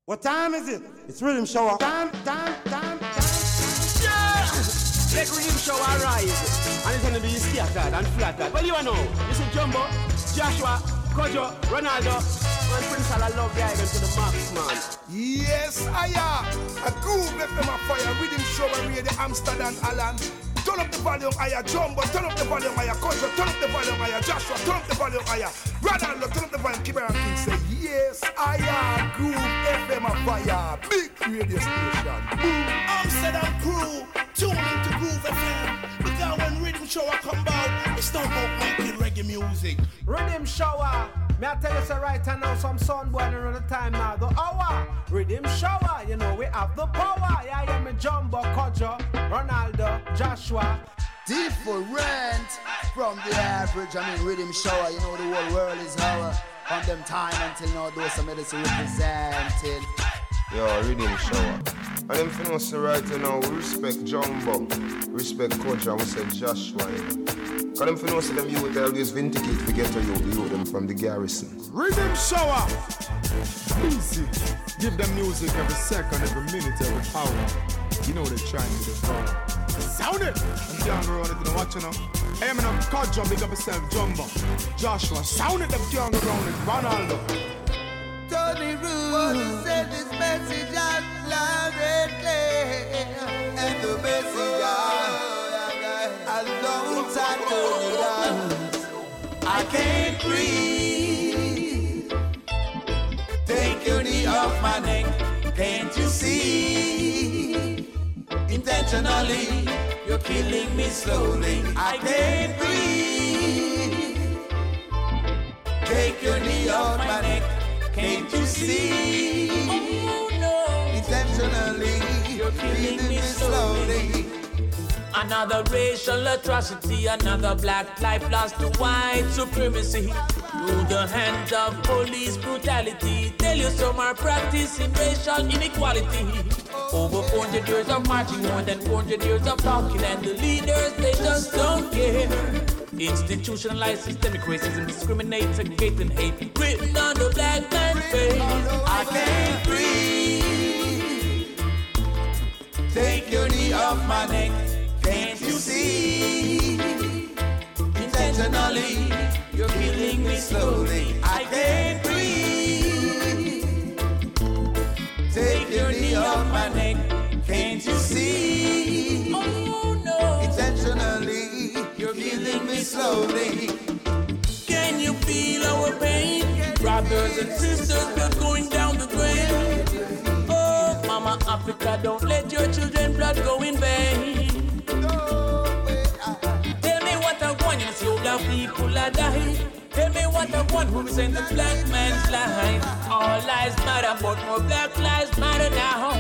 What time is it? It's Rhythm Shower. Time. Yeah! Let Rhythm Shower rise. And it's gonna be scattered and flattered. Well, you know, this is Jumbo, Joshua, Kojo, Ronaldo, and Prince Ala love the island to the max, man. Yes, I am. A groove left them a fire. Rhythm Shower radio Amsterdam, Alan. Turn up the volume higher, Jumbo. Turn up the volume higher, Kojo. Turn up the volume higher, Joshua. Turn up the volume higher, Ronaldo. Turn up the volume. Keep it King say, yes, I am. Groove FM a fire. Big radio station. Amsterdam crew, tune into Groove FM. Because when Rhythm Shower come out, it's not about making reggae music. Rhythm Shower. May I tell you so right now, some sun boiling on the time now. The hour, Rhythm Shower, you know we have the power. Yeah, I am a Jumbo, Kojo, Ronaldo, Joshua. Different from the average. I mean, Rhythm Shower, you know the whole world is our. From them time until now, those some medicine represented. Yo, Rhythm Shower. And them for us right now, we respect Jumbo, respect Kojo, and we say Joshua. Cause them for know say them youth always vindicate to get to you them from the garrison. Rhythm Shower. Easy. Give them music every second, every minute, every hour. You know they're trying to do. Sound it. I'm down around it, watch you know. Hey, I'm in a Kojo, big up yourself, Jumbo. Joshua, sound it, them young around it, Ronaldo. Tony Roos sent this message out loud and clear. And the message a long time Tony down. I can't breathe. Take your knee off my neck. Can't you see? Intentionally, you're killing me slowly. I can't breathe. Take your knee off my neck. Can't you see? Oh, no. Intentionally, you're killing me slowly. Another racial atrocity, another black life lost to white supremacy. Through the hands of police brutality, tell you some are practicing racial inequality. Over 400 years of marching, more than 400 years of talking, and the leaders, they just don't care. Institutionalized systemic racism, discriminate, segregate, and hate, written on the black man's face. I can't breathe. Take your knee off my neck. Can't you see? Intentionally, you're killing me slowly. I can't breathe. Take your knee off my neck. Can't you see? Oh no. Intentionally, you're killing me slowly. Can you feel our pain? Brothers and sisters, we're going down the drain. Oh, Mama Africa, don't let your children's blood go in vain. Tell me what I want, you see all black people are dying. Tell me what I want, who sent the black man's life. All lives matter, but more black lives matter now.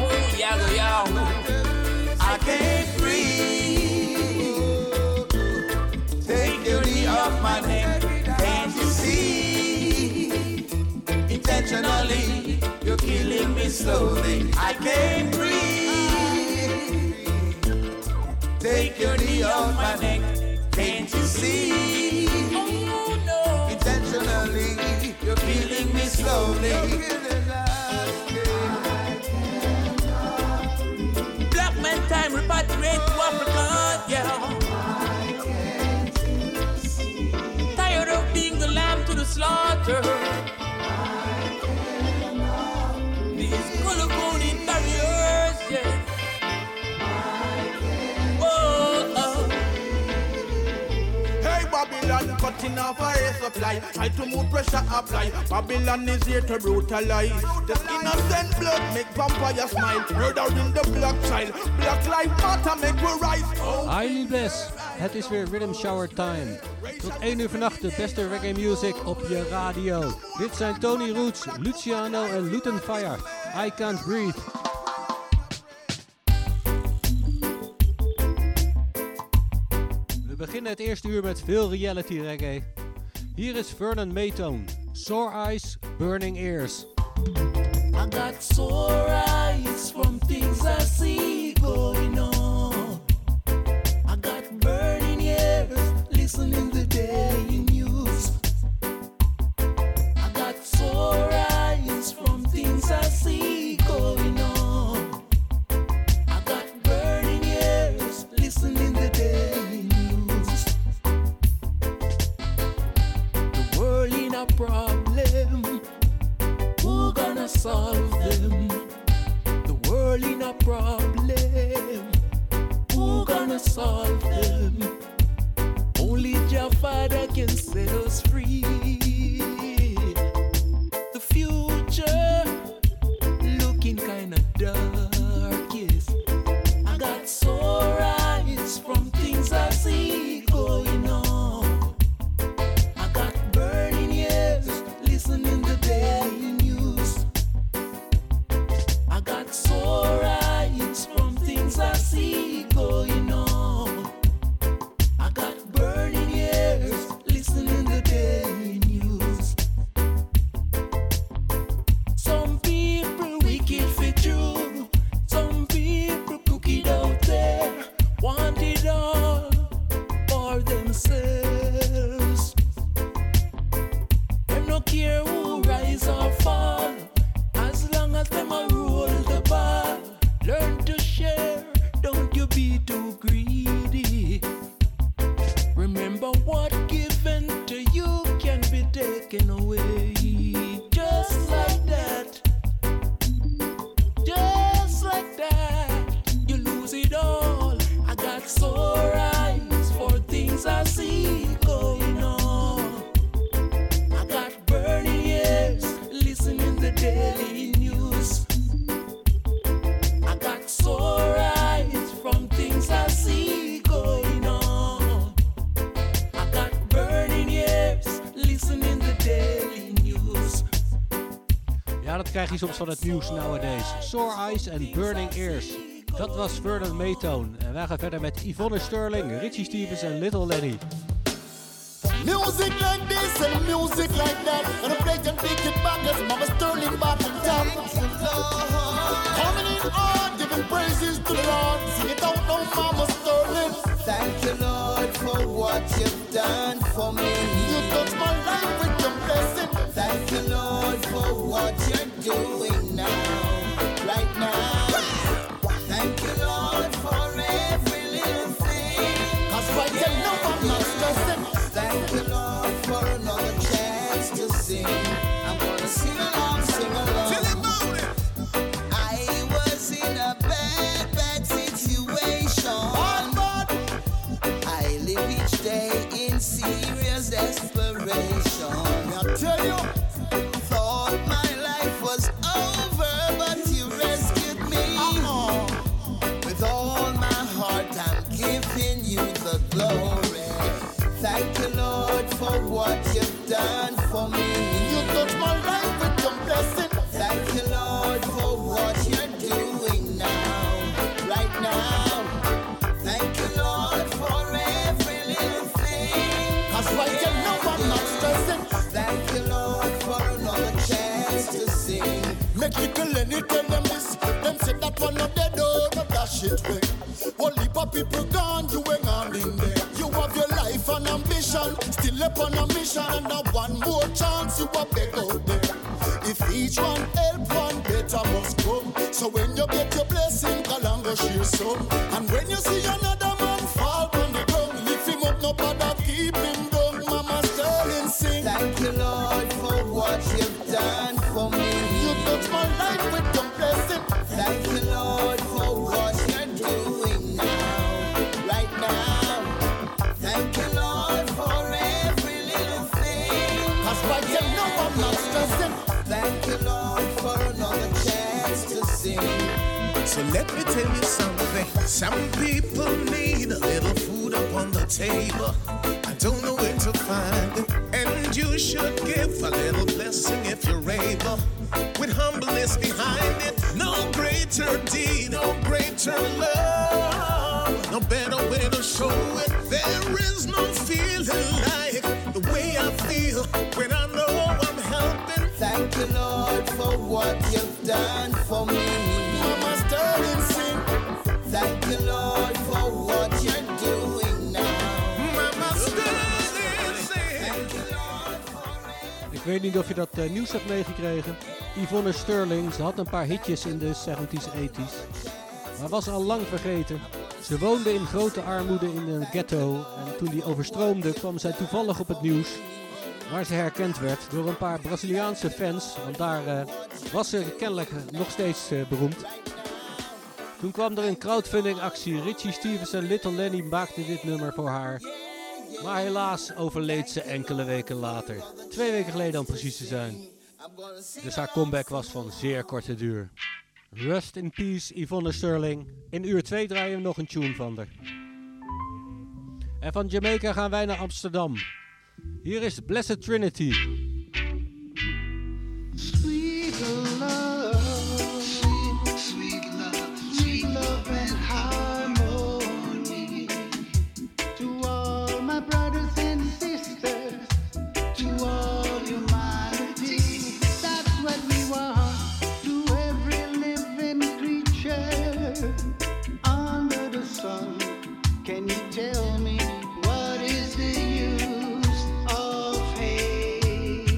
I can't breathe. Take your knee off my neck. Can't you see? Intentionally, you're killing me slowly. I can't breathe. Take your knee off my neck. Can't you see? Oh no. Intentionally, you're killing me slowly. Black man time repatriate to Africa, yeah. Tired of being the lamb to the slaughter. These color-coded barriers, yeah. Babylon cutting off our air supply. Try to move pressure apply. Babylon is here to brutalize. This innocent blood make vampire smile. Murder in the black child. Black life matter make we rise. Highly blessed. Het is weer Rhythm Shower time. Tot 1 uur vannacht de beste reggae music op je radio. Dit zijn Tony Roots, Luciano en Luton Fire. I Can't Breathe. We beginnen het eerste uur met veel reality reggae. Hier is Vernon Maytone, Sore Eyes, Burning Ears. I got sore eyes from things I see going on. I got burning ears listening the daily news. I got sore eyes from things I see problem, who gonna solve them? Only Jah Father can set us free. The future looking kinda dark, yes. I got sore eyes from things I see going on. I got burning ears listening to daily news. I got sore eyes from things I see going on. I got burning ears listening to daily news. Some people wicked for true. Some people crooked out there. Want it all for themselves. Them no care who rise or fall, as long as them a roll the ball. Learn to share, don't you be too greedy. Remember what given to you can be taken away. Just like that. Just like that. You lose it all. I got sore eyes for things I see going on. I got burning ears listening to daily news. I got sore eyes from things I see going on. I got burning ears listening to daily news. Ja, dat krijg je soms van het nieuws nowadays. Sore Eyes en Burning Ears. Dat was Vernon Maytone. En wij gaan verder met Yvonne Sterling, Richie Stephens en Little Lenny. Music like this and music like that. And a break and big it bangers, Mama Sterling bottom top. Coming in on, giving praises to the Lord. Sing it out now, Mama Sterling. Thank you, Lord, for what you've done for me. You touch my life with your blessing. Thank you, Lord, for what you're doing now, right now. Thank you, Lord, for every little thing. 'Cause right you know I'm not stressing. Thank you, Lord, for another chance to sing. I'm gonna sing along, sing along. I was in a bad situation. I live each day in serious desperation. I tell you, thought my life was over, but you rescued me. With all my heart, I'm giving you the glory. Thank you, Lord, for what you've done for me. you touch my life with your blessing. Thank you, Lord, for what you're doing now, right now. Thank you, Lord, for every little thing. 'Cause right you know I'm not stressing. Thank you, Lord, for another chance to sing. Make little Lenny tell them this. Them said that one of their door, but that shit way. One heap of people gone, you ain't on in there. You have your life and ambition, still up on a mission, and now one more chance you are beg out there. If each one help, one better must come. So when you get your blessing, Kalango share some. And when you see another man fall on the ground, lift him up, no bother keep him down. Mama Sterling sing. Thank you, Lord, for what you've done for me. You touch my life with your blessing. Thank you, Lord, for what you're doing now, right now. Thank you, Lord, for every little thing. 'Cause right you know I'm not stressing. Thank you, Lord, for another chance to sing. So let me tell you something. Some people need a little food upon the table. I don't know where to find it. And you should give a little blessing if you're able. With humbleness behind it. No greater deed, no greater love. No better way to show it. There is no feeling like the way I feel when I know I'm helping. Thank you, Lord, for what you've done for me. Mama Sterling sing. Thank you, Lord, for what you're doing now. Mama Sterling sing. Thank you, Lord, for Ik weet niet of je dat nieuws hebt meegekregen. Yvonne Sterling, ze had een paar hitjes in de 70s, 80s. Maar was al lang vergeten. Ze woonde in grote armoede in een ghetto. En toen die overstroomde kwam zij toevallig op het nieuws. Waar ze herkend werd door een paar Braziliaanse fans. Want daar was ze kennelijk nog steeds beroemd. Toen kwam er een crowdfunding actie. Richie Stevens en Little Lenny maakten dit nummer voor haar. Maar helaas overleed ze enkele weken later. 2 weken geleden om precies te zijn. Dus haar comeback was van zeer korte duur. Rest in peace, Yvonne Sterling. In uur 2 draaien we nog een tune van haar. En van Jamaica gaan wij naar Amsterdam. Hier is Blessed Trinity. Sweet love, sweet love, sweet love and harmony. To all my brothers and sisters, to all humanity. That's what we want. To every living creature under the sun. Can you tell me what is the use of hate?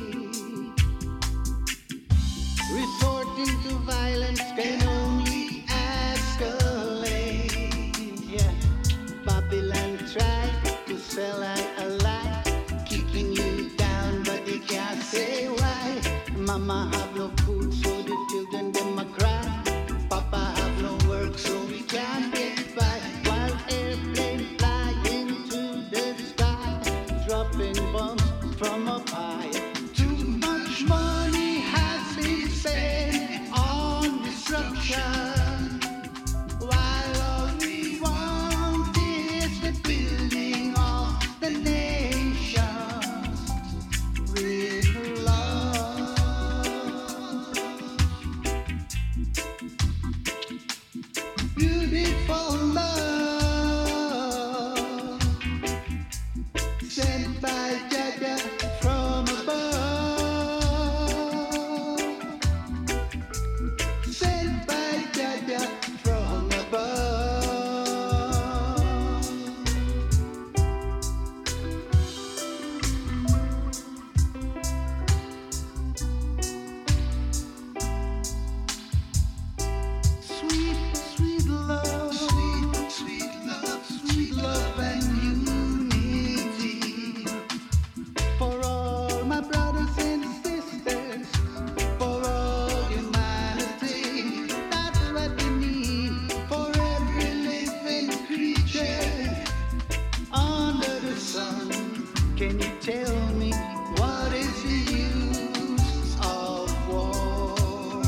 Resorting to violence can only escalate. Yeah, Babylon tried to sell out a lie, keeping you down, but they can't say why. Mama have no food, so the children them a cry. Papa have no work, so we can't get by. While airplane flying to the sky, dropping bombs from up high. Too much money has been spent on destruction, while all we want is the building of the nations with love. Beautiful love sent by Jaja from above. Sent by Jaja from above. Sweet, sweet love, sweet love, sweet love and unity. For all my brothers and sisters, for all humanity. That's what we need for every living creature under the sun. Can you tell me what is the use of war?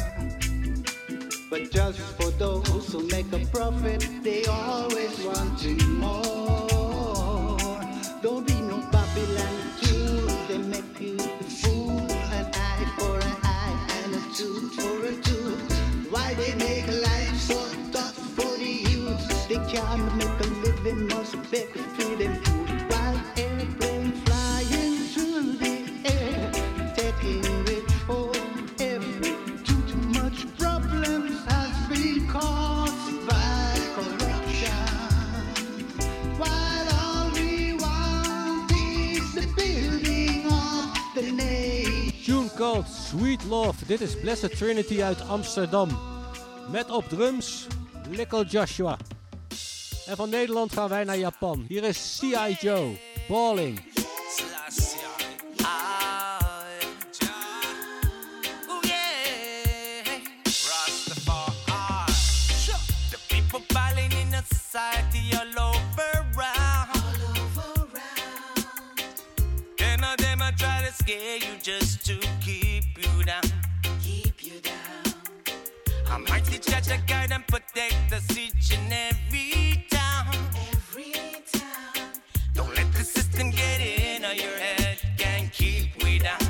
But just for those who make a profit, they always want to more. Don't be no Babylon tool, they make you the fool. An eye for an eye and a tooth for a tooth. Why they make life so tough for the youth? They can't make a living, must beg to feed them food. While airplane flying through the air, taking rich for every too much problems has been caused by corruption. While all we want is the building of the nation. Tune called Sweet Love. Dit is Blessed Trinity uit Amsterdam. Met op drums Little Joshua. En van Nederland gaan wij naar Japan. Hier is C.I. Joe, Balling. The people balling in the society all over round. Them of them a try to scare you just to keep you down. I might teach that to guide and protect us each and every time. Don't let the system get in or your head can keep we down.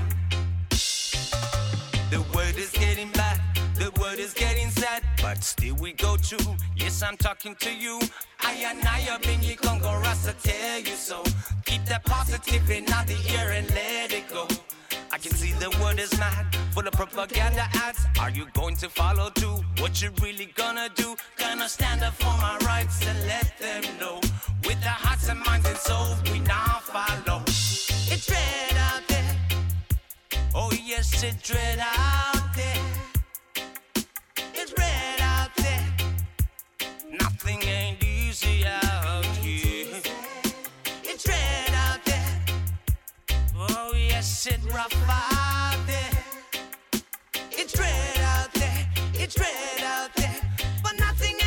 The word is getting bad, the word is getting sad, but still we go through. Yes, I'm talking to you. I and I have been you Congo Rasta tell you so. Keep that positive in the ear and let it go. I can see the world is mad, full of propaganda ads. Are you going to follow through? What you really gonna do? Gonna stand up for my rights and let them know. With our hearts and minds and souls, we now follow. It's red out there. Oh yes, it's red out there. It's red out there. Nothing ain't easy out here. It's red out there. Oh yes, it's rough out there. It's red out there. It's red out there. But nothing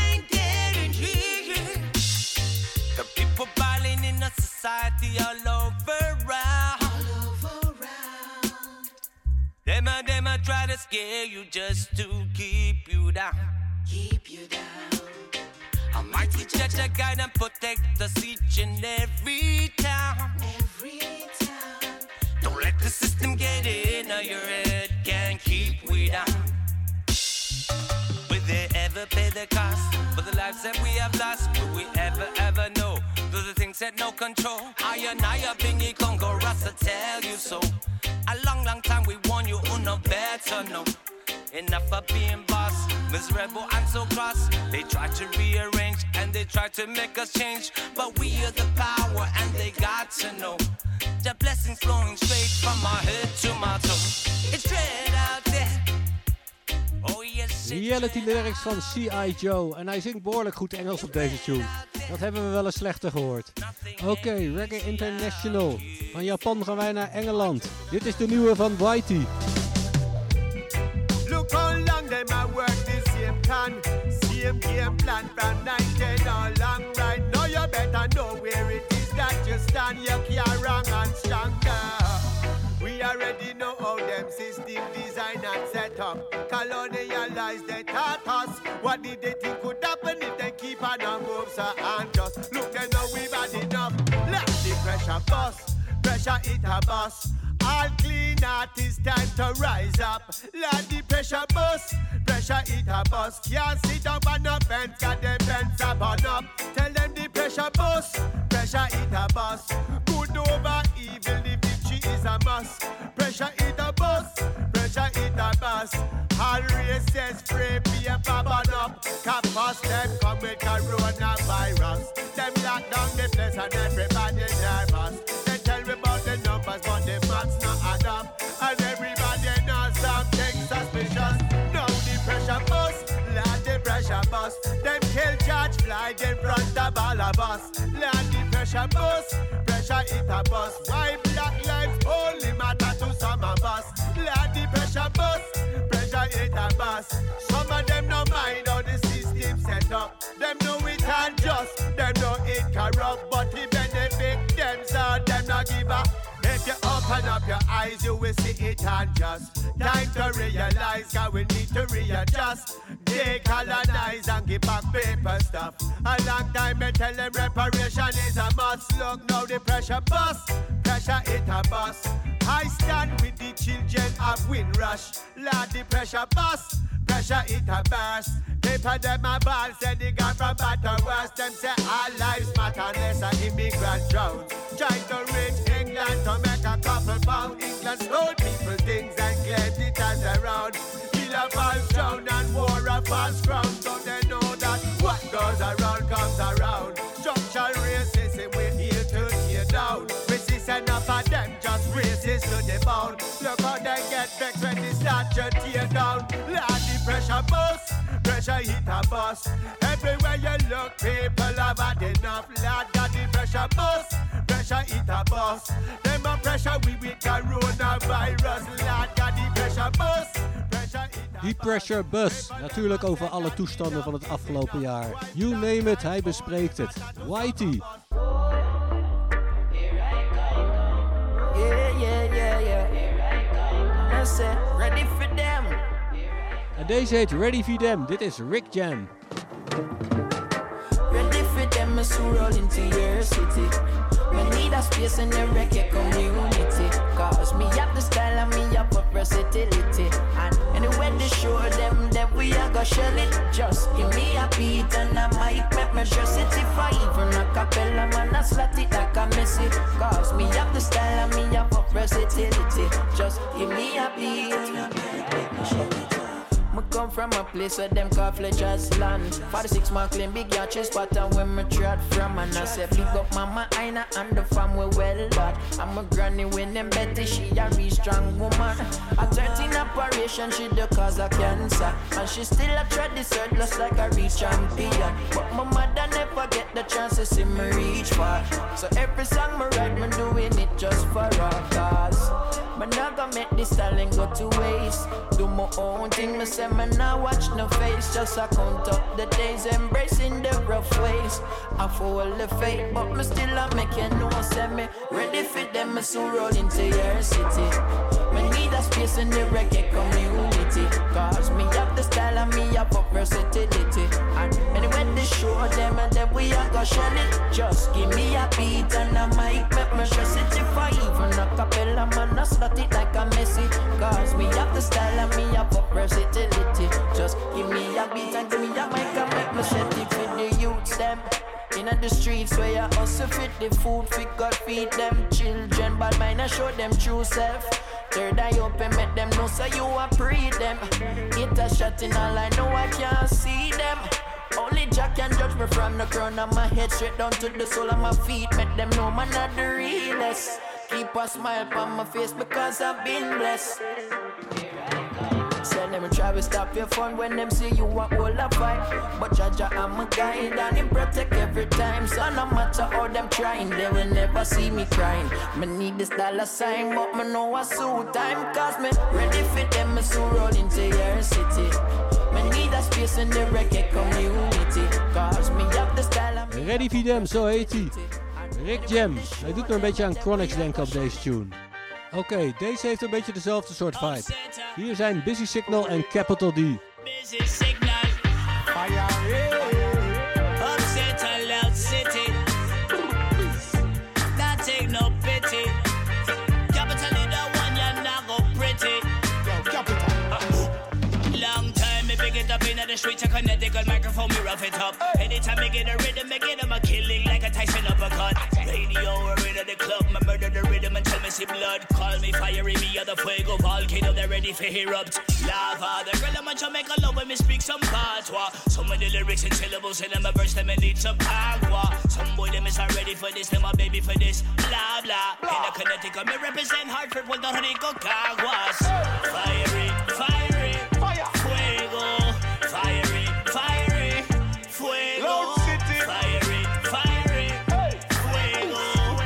scare you, just to keep you down. Keep you down. Almighty Judge, a guide and protect us each and every time. Every time. Don't let the system get in your head, can't keep we down. Will they ever pay the cost for the lives that we have lost? Will we ever know? Do the things that no control? I have been your Congo Rasta tell you so. A long time we warn you, no better know. Enough of being boss, miserable and so cross. They try to rearrange and they try to make us change, but we are the power and they got to know. The blessings flowing straight from my head to my toe. It's straight out there. Oh yes. Reality lyrics van C.I. Joe. En hij zingt behoorlijk goed Engels op deze tune. Dat hebben we wel eens slechter gehoord. Oké, Reggae International. Van Japan gaan wij naar Engeland. Dit is de nieuwe van Whitey. Look how long them a work the same can. Same game plan from 19 all long right. Now you better know where it is that you stand. You can't wrong and stronger. We already know how them system design and set up. Colonialize they taught us. What did they think could happen if they keep on a move? So and just look and now we've had enough. Let the pressure bust. Pressure it a bust. All clean artists time to rise up. Let the pressure bust. Pressure it a bust. Can't sit up on the fence, got them fence up on up. Tell them the pressure bust. Pressure it a bust. Good over evil, the victory is a must. Pressure it a bust. Pressure it a bust. All races spray paper burn up. Campus them come with coronavirus. Them lock down the place and everybody nervous. They tell me about the numbers but the maths not add up. And everybody knows something suspicious. Now the pressure bust, let the pressure bust. Them kill George Floyd in front of all of us. Let the pressure bust, pressure it a bust. Why black lives only matter to some of us. Let the pressure bust, pressure it a bust. Some of them no mind how the system set up. Them know it unjust, them know it corrupt. But it benefit them so them not give up. If you open up your eyes, you will see it unjust. Time to realize, cause we need to readjust. Decolonize and give back paper stuff. A long time I tell them reparation is a must. Look now the pressure bust, pressure it a bust. I stand with the children of Windrush. Lord the pressure bust, pressure it a burst. Paper them a ball, say they got from bad to worse. Them say all lives matter unless an immigrant drowns. Try to reach England to make a couple pound. England stole people things and claimed it as their own. Killer falls down and war a false crown. So they know that what goes around comes around. Structural racism will heal to tear down. Resist enough of them, just racist to the bone. Look how they get vexed when they start to tear down. Lord, the pressure bust, pressure hit a bus. Everywhere you look, people have had enough. Lord, got the pressure bust, pressure hit a bus. Them a pressure we with coronavirus. Lord, got the pressure bust. Die Pressure Bus, natuurlijk over alle toestanden van het afgelopen jaar. You name it, hij bespreekt het. Whitey. Ready for them. En deze heet Ready for Them. Dit is Rick Jam. Ready for them is to roll into your city. Me need a space in the reggae community. Cause me have the style and me have a versatility. And anyway they show them that we are gonna shell it. Just give me a beat and I might make me dress it. If I even a cappella man I slot it like a messy. Cause me have the style and me have a versatility. Just give me a beat and I might make me shell it. Me come from a place where them call Fletcher's land. 46 Marklin, big yacht chest pattern where me trot from. And I say big up mama Aina and the fam we well bad. I'm a granny when them Betty, she a real strong woman. At 13 operation, she the cause of cancer. And she still a tread this earth just like a real champion. But my mother never get the chance to see me reach far. So every song me write, me doing it just for her cause. Me not gonna make this talent go to waste. Do my own thing, me say me not watch no face. Just I count up the days, embracing the rough ways. I follow the fate, but me still a make you know. Say me ready for them, me soon roll into your city. Me need a a space in the reggae community. Cause me have the style and me have a versatility. And anyway they show them and then we are gonna shell it. Just give me a beat and a mic, make me stress it. If I even a cappella man, I slot it like a Messi. Cause me have the style and me have a versatility. Just give me a beat and give me a mic and make me set it for the youths them. In the streets where you hustle fit the food, fit God feed them children. Bad mind I show them true self. Third eye open, make them know so you are pre them. Hit a shot in all I know I can't see them. Only Jack can judge me from the crown of my head straight down to the sole of my feet. Make them know man not the realest. Keep a smile on my face because I've been blessed. Say them try to stop your fun when them see you want all a fight. But Jaja I'm a guide and him protect every time. So no matter how them trying, they will never see me crying. Me need this dollar sign, but me know a suit time. Cause me ready for them, me soon roll into your city. Me need a space in the reggae community. Cause me have the style and me Ready for them, zo heet hij. Rick Jam. Hij doet me een beetje aan Chronix denken op deze tune. Oké, deze heeft een beetje dezelfde soort vibe. Hier zijn Busy Signal en Capital D. Busy Signal. Upset a loud city. Not take no pity. Capital is the one you're not go pretty. Long time me pick it up in the streets. I connect the microphone, me rough it up. Anytime I get a rhythm, I get him a killing like a Tyson uppercut. Radio or in the club, my murder the rhythm until me see blood. Call me fiery, me or the fuego volcano, they're ready for erupt. Lava, the girl I'm a Jamaica love when me speak some patois. Some of the lyrics and syllables in my verse, them I need some agua. Some boy them is not ready for this, them a baby for this. Blah blah. In the Connecticut, me represent Hartford, Puerto Rico, Caguas. Fiery, fiery, fire, fuego. Fiery, fiery, fuego. Loud City. Fiery, fiery, fuego,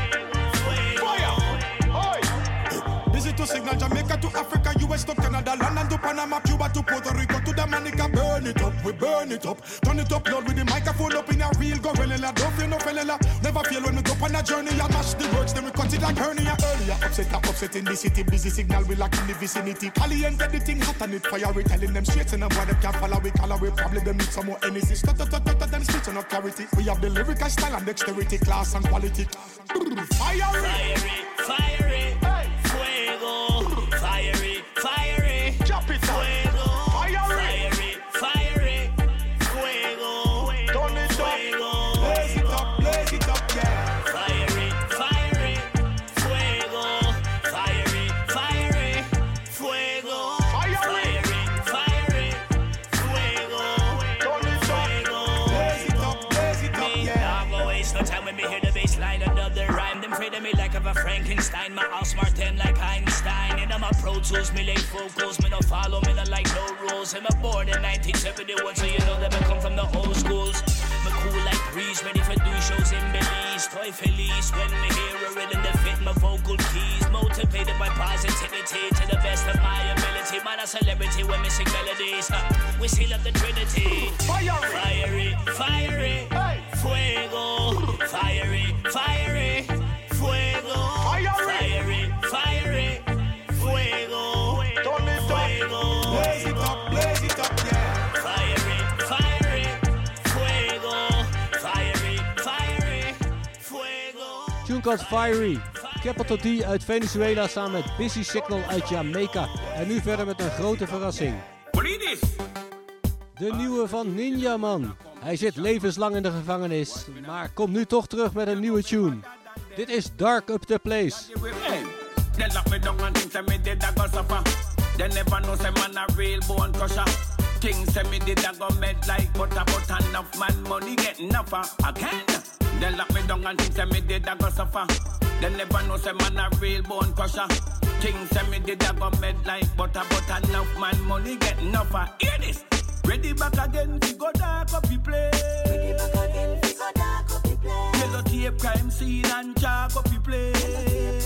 fuego. Digital signal Jamaica to Africa, US to Canada, London to Panama, Cuba to Puerto Rico to Dominica. Burn it up, we burn it up. Turn it up loud with the microphone up in a real gorilla. Don't feel no fella. Never feel when we go on a journey. I mash the words, then we cut it like hernia. Earlier upset in the city. Busy signal we like in the vicinity. Caliente the thing hot and it fire. We telling them straight and boy them can't follow. We call away probably them need some more energy. Then speech on clarity. We have the lyrical style and dexterity, class and quality. Fiery, fiery, fuego. Fiery, fiery, drop it fuego. Fiery, fiery, fuego. Turn it up, blaze it up, yeah. Fiery, fiery, fuego. Fiery, fiery, fuego. Fiery, fiery, fuego. Turn it up, blaze it up, yeah. I'll go waste no time when me hear the bass line. Another rhyme, them afraid of me like of a Frankenstein. My house smart them like Einstein. And I'm a Pro Tools, me late focus. Me no follow, me no like no rules. I'm a born in 1971, so you know that I come from the old schools. Me cool like breeze, ready for do shows in Belize. Toy feliz when me hear a rhythm that fit my vocal keys. Motivated by positivity to the best of my ability. Man a celebrity when me sing melodies. We seal up the Trinity. Fiery, fiery, fuego. Fiery, fiery, fuego. Fiery, fiery, fuego. Turn it up, blaze it up, yeah. Fiery, fiery, fuego. Fiery, fiery, fuego. Tune called Fiery. Capital D uit Venezuela samen met Busy Signal uit Jamaica. En nu verder met een grote verrassing. De nieuwe van Ninja Man. Hij zit levenslang in de gevangenis, maar komt nu toch terug met een nieuwe tune. Dit is Dark Up The Place. They lock me down and think say me did a go suffer. They never know say man a real bone crusher. King say me did a go med like butter, but enough man money get enough again. They lock me down and think say me did a go suffer. They never know say man a real bone crusher. King say me did a go med like butter, but enough man money get enough. Hear this. Ready back again, we go dark up the place. Ready back again, we go dark up the place. Yellow tape crime scene and chalk up the place.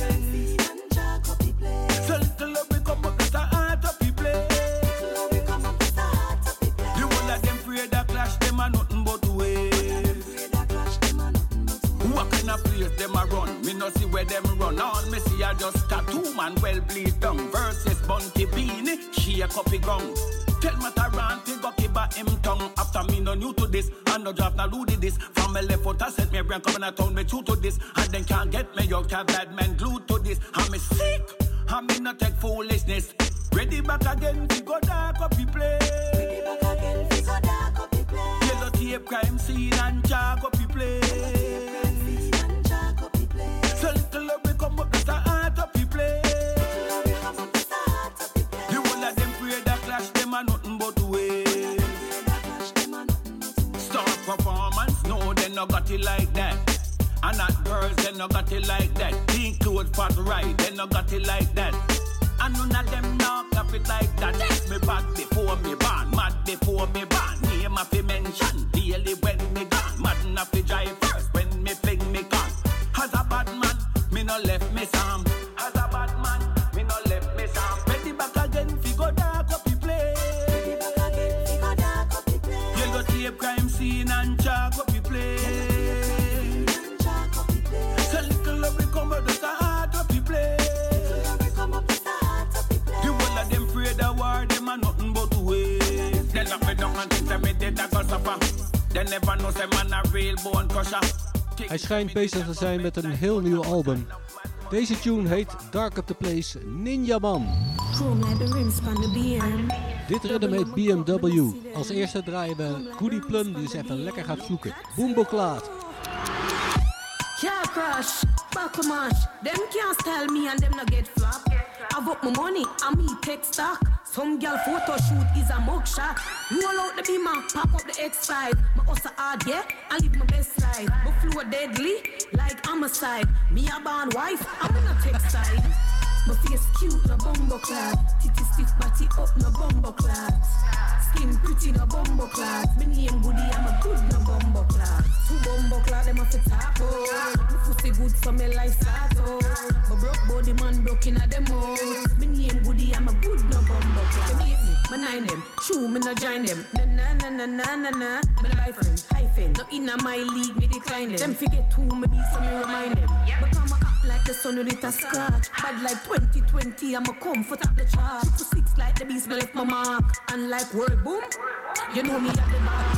So little love we come up with the heart up the place. The whole of them afraid that clash them are nothing but waves. What kind of place them a run? Me no see where them run. All me see are just tattoo man well bleed down. Versus Bunty Beanie, she a copy gun. Tell me to run, take up about him tongue. After me no new to this, and no draft, no loaded this. From me left foot, I set me brain coming a town, me true to this. And then can't get me out, can't bad man glued to this. I'm me sick, I'm me not take foolishness. Ready back again, we go dark up the place. Ready back again, we go dark up the place. Yellow tape crime scene and jack up the place. So little love we come up, just a heart up the place. The whole of them pray that clash, them are nothing but waste. Star performance, no, they no got it like that. And not girls, they no got it like that. Pink clothes, fat right, they no got it like that. And none of them now cap it like that. Yes, me bad before me born, mad before me born. Name a fi mention, daily when me gone. Mad enough fi drive first, when me fling me gone. As a bad man, me no left me Sam. As a bad man, me no left me Sam. Ready back again, fi go dark up the place. Ready back again, fi go dark up the place. Yellow tape crime scene and chalk up the place. So little love we come out just a heart up the place. The war, them are nothing but waste. They lock me down and think that me dead, I go suffer. They never know say man a real bone crusher. Hij schijnt bezig te zijn met een heel nieuw album. Deze tune heet Dark Up The Place Ninja Man. Dit ritme heet BMW. Als eerste draaien we Goody Plum die eens even lekker gaat vloeken. Boomboklaat. Yeah, crush, buckle mash. Them can't tell me and them not get flop. I've up my money and me take stock. Some girl photo shoot is a mugshot. Roll out the beamer, pop up the X5. My hustle hard, yeah, I live my best side. My flow deadly, like homicide. Me a born wife, I'm in a tech side. My face cute, no bumbo clad. Titty stiff, body up, no bumbo clad. Skin pretty, no bumbo clad. Me name Goody, I'm a good, no bumbo clad. Two bumbo clad, them off the top, oh. My pussy good, so me life start, oh. My broke body man broke in at them out. Me name Goody, I'm a good, no bumbo clad. Me hate me, me nine them. True, me no join them. Na na na na na na. Me life friend, hyphen. No inna my league, me decline them. Them forget who me be, so me remind them. Become a act like the sun with a scratch. Bad like 2020, I'm a comfort at the chart. 6 like the beast, me left my mark. And like word boom, you know me at the bar.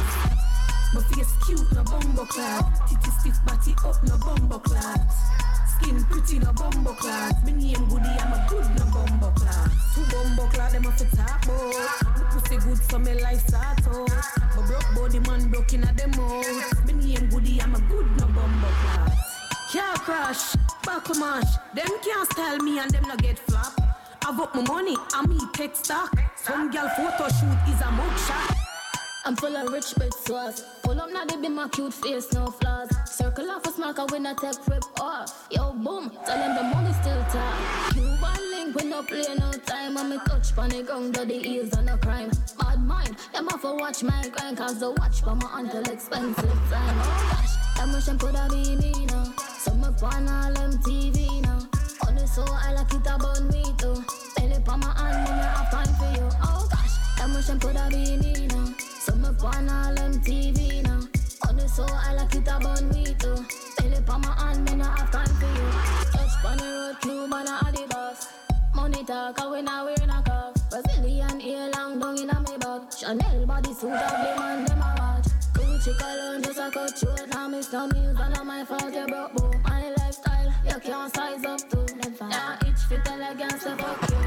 My face cute, no bumbo clad. Titty stiff, body up, no bumbo clad. Skin pretty, no bumbo clad. Me name Goody, I'm a good, no bumbo clad. Two bumbo clad, them off the top, oh. My pussy good, so me life start, oh. My broke body man broke in at them out. Me name Goody, I'm a good, no bumbo clad. Yeah, crush, buckle mash. Them can't style me and them not get flop. I've up my money and me take stock. Some girl photo shoot is a mugshot. I'm full of rich bitch sauce. Pull up now, they be my cute face, no flaws. Circle off a smacker when I take rip off. Yo, boom, tell them the money still tight. You one link, we no play no time. And me touch pan the ground, the heels on a crime. Bad mind, them off to watch my grind. Cause the watch for my until expensive time. Oh gosh, that motion could have be me now. So me pan all MTV now. On the soul, I like it about me too. Belly pa my hand, me have time for you. Oh gosh, that motion could have be me now. So me pan all MTV now. On the soul, I like it about me too. Belly pa my hand, me not have time for you. Touch pan the road, Cube and a Adidas. Money talk, and we not wear a cuff. Brazilian ear long down in a me bag. Chanel body suit, ugly man, them a watch. Gucci cologne, just a cut short. Now me no meals, and not my fault, you broke boo. My lifestyle, you can't size up to. Yeah, each fit elegance, so fuck you.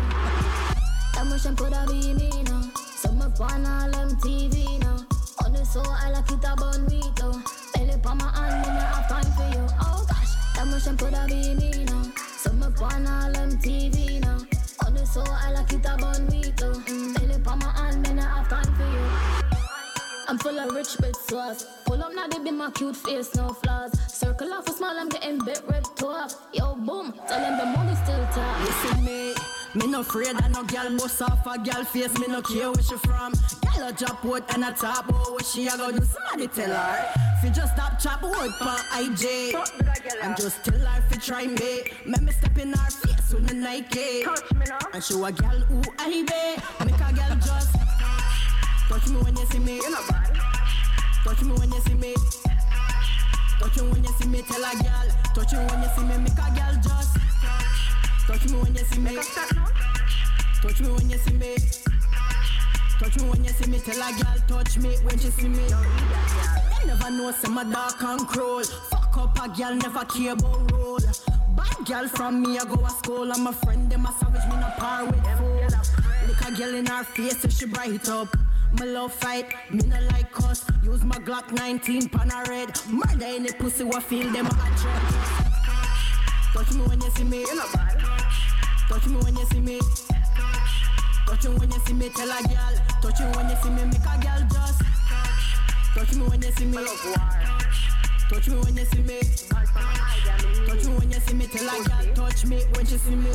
That motion coulda be me now. So me pan all MTV now. On the soul, I like it about me too. Belly pa my hand, me not have time for you. Oh gosh, that motion coulda be me now. So me pan all MTV now. On the soul, I like it about me too. Belly pa my hand, me not have time for you. I'm full of rich bitch sauce. Pull up now, they be my cute face, no flaws. Circle off a smile, I'm getting bit ripped off. Yo, boom, tell them the money still tight. Listen me no afraid that no girl bust off a girl face. Me no care where she from. Girl a drop wood and a top out. What she a go do? Somebody tell her. Fi just stop chop wood pa IJ. And just tell her fi try me. Make me step in her face with the Nike. Touch me now. And show a girl who I be. Make a girl just touch me when you see me. Touch me when you see me. Touch me when you see me, tell a girl. Touch me when you see me, make a girl just touch me when you see me. Touch me when you see me. Touch me when you see me, tell a girl touch me when she see me. You never know some a dark and cruel. Fuck up a girl, never care about roll. Bad girl from me, I go to school. I'm a friend, them a savage, me not par with fool. Look a girl in her face if she bright up. My love fight, me no like cuss. Use my Glock 19 pan a red. Murder any pussy what feel them a attract. Touch me when you see me, you know bad. Touch me when you see me. Touch me when you see me, tell a girl. Touch me when you see me, make a girl just touch me when you see me. Touch me when you see me. Touch me when you see me, tell a girl. Touch me when she see me.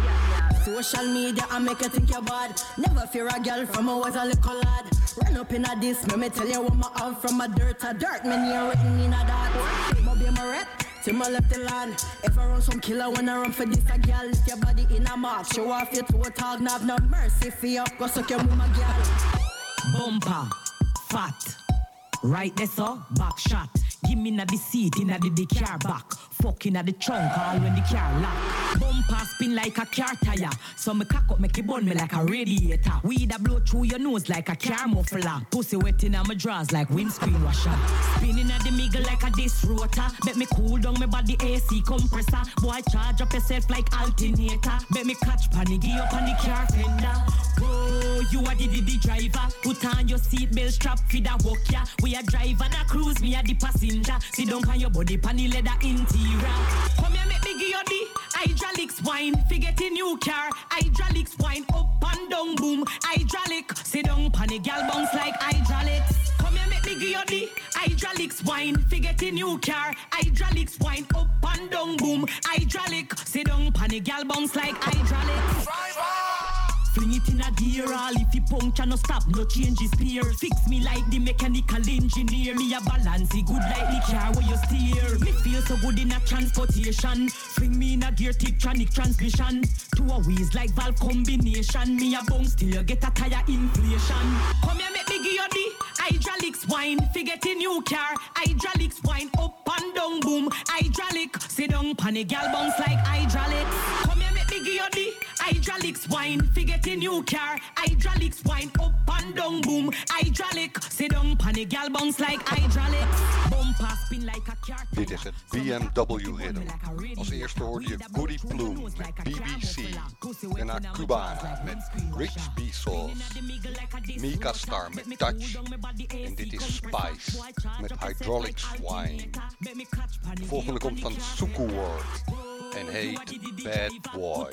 Social media I make you think you're bad. Never fear a girl from I was a little lad. Run up in a this, me tell you what my out from a dirt to dirt. Me near written in a that. My be my rep, till my left the land. If I run some killer when I run for this a girl, lift your body in a mark. Show off your toe tag, have no mercy for you. Go suck your mama girl. Bumper, fat, right there so, back shot. Give me na the seat in the car back. Fucking at the trunk all when the car lock. Bumper spin like a car tire. So me cock up make it burn me like a radiator. Weed a blow through your nose like a car muffler. Pussy wet in my drawers like windscreen washer. Spinning at the middle like a disc rotor. Bet me cool down my body AC compressor. Boy charge up yourself like alternator. Bet me catch panic up on the car fender. Whoa, you are the driver. Put on your seatbelt strap for the walk ya. We a drive and a cruise, me a the passenger. Sit down on your body, pan the leather interior. Come here, make me give you the hydraulics wine. Forget a new car, hydraulics wine. Up and down, boom, hydraulic. Sit down, pan the gal bounce like hydraulics. Come here, make me give you the hydraulics wine. Forget a new car, hydraulics wine. Up and down, boom, hydraulic. Sit down, pan the gal bounce like hydraulics. Fling it in a gear, all if you puncture no stop, no change his spear. Fix me like the mechanical engineer. Me a balance it good like the car where you steer. Me feel so good in a transportation. Fling me in a gear, Tiptronic transmission. Two wheels like valve combination. Me a bounce till you get a tire inflation. Come here, make me give you the hydraulics wine. Forget a new car, hydraulics wine. Up and down, boom, hydraulic. Sit down, pan a gal bounce like hydraulics. Come here, make me give you the hydraulics wine. Forget a new car, hydraulics wine. Up and down, boom, hydraulic. Sit down, pan a gal bounce like hydraulics. Bumper spin like a car. Dit is het BMW Rhythm. Als eerste hoorde je Goody Plume met BBC. Daarna Cubana met Rich B. Sauce. Mika Star met Touch. En dit is Spice met Hydraulics Wine. De volgende komt van Suku Ward en heet Bad Boy.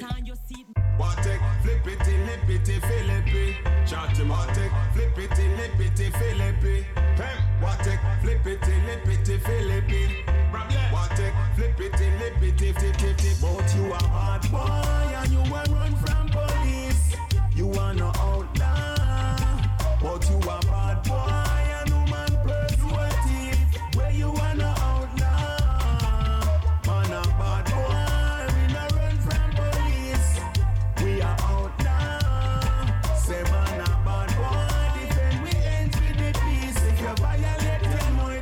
Watek, flippity, lippity, filippy. Chatty watek, flippity, lippity, filippy. Watek, flippity, lippity, filippy. Watek, flippity, lippity, filippy. But you a hard boy and you a run from police. You are no outlaw. But you a bad boy and woman persuasive. Where you are no outlaw. Man a bad boy, we no run from police. We are out now. Say man a bad boy, defend we ends with the peace. If you violate them, we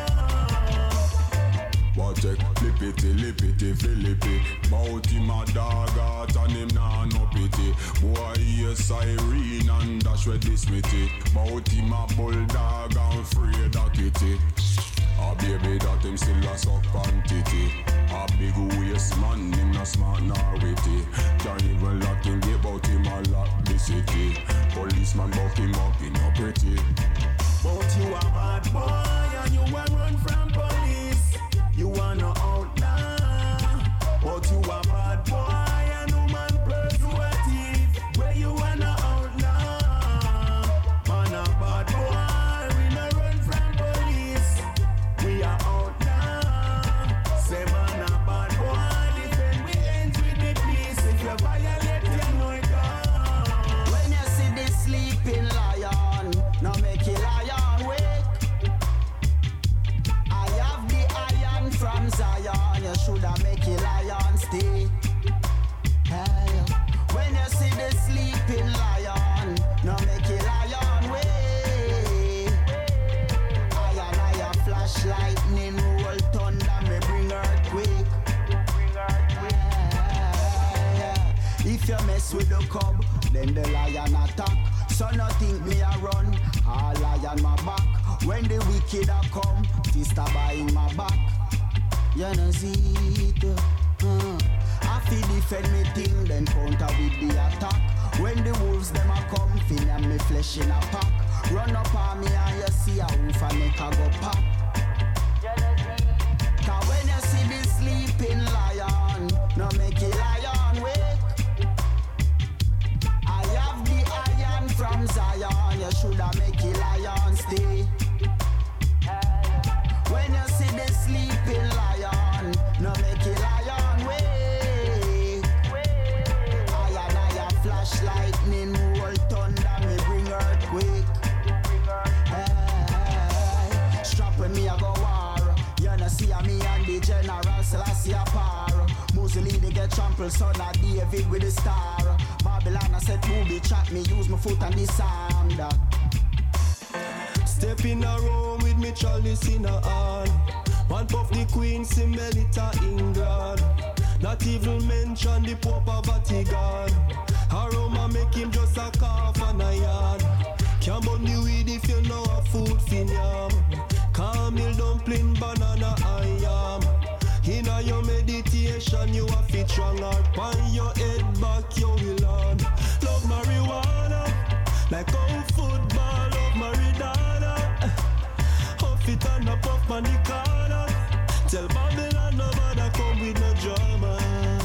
go. Watch it, lippity, lippity, filippy. Bout him a dog out and him nah no pity. Boy hear siren and dash with this mitty. Bout him a bulldog and afraid of kitty. A baby that him still a suck on titty. A big waist man, him not smart nor witty. Can't even lock him, get bout him a lock the city. Policeman buck him up, he no pretty. But you a bad boy and you a run from police. You are no outlaw. But you a bad boy and woman persuasive. Where you are no outlaw. Man a bad boy, we no run from police. We are out now. Say man a bad boy, defend we ends with the peace. If you violate, you know it gone. When you see this sleeping lion, now make it mess with the cub, then the lion attack. So no think me a run, all lion my back. When the wicked a come, fist a buying my back. You know see it, I feel defend me thing, then counter with the attack. When the wolves them a come, feel and me flesh in a pack. Run up on me and you see a wolf and make a go pop. Cause when you see the sleeping lion, no make a lion wake. I have the iron from Zion, you shoulda make a lion stay. When you see the sleeping lion, no make a lion wake. I flash lightning, roll thunder, me bring earthquake. Hey, strap when me a go war. You know see a me and the general Selassie a par. Mussolini get trampled, son of David with the star. Babylon I said booby trap, me use my foot and disarm that. Step in a room with me chalice in a hand. One puff the Queen, Melita England. Not even mention the Pope of Vatican. Aroma make him just a cough and a yarn. Can't burn the weed if you know a food fin yam. Camel dumpling, banana and yam. In a your meditation you a fit strong heart. On your head back you will learn. Love marijuana, like how football love Maradona. Huff it and a puff on the corner. Tell Babylon nobody come with no drama.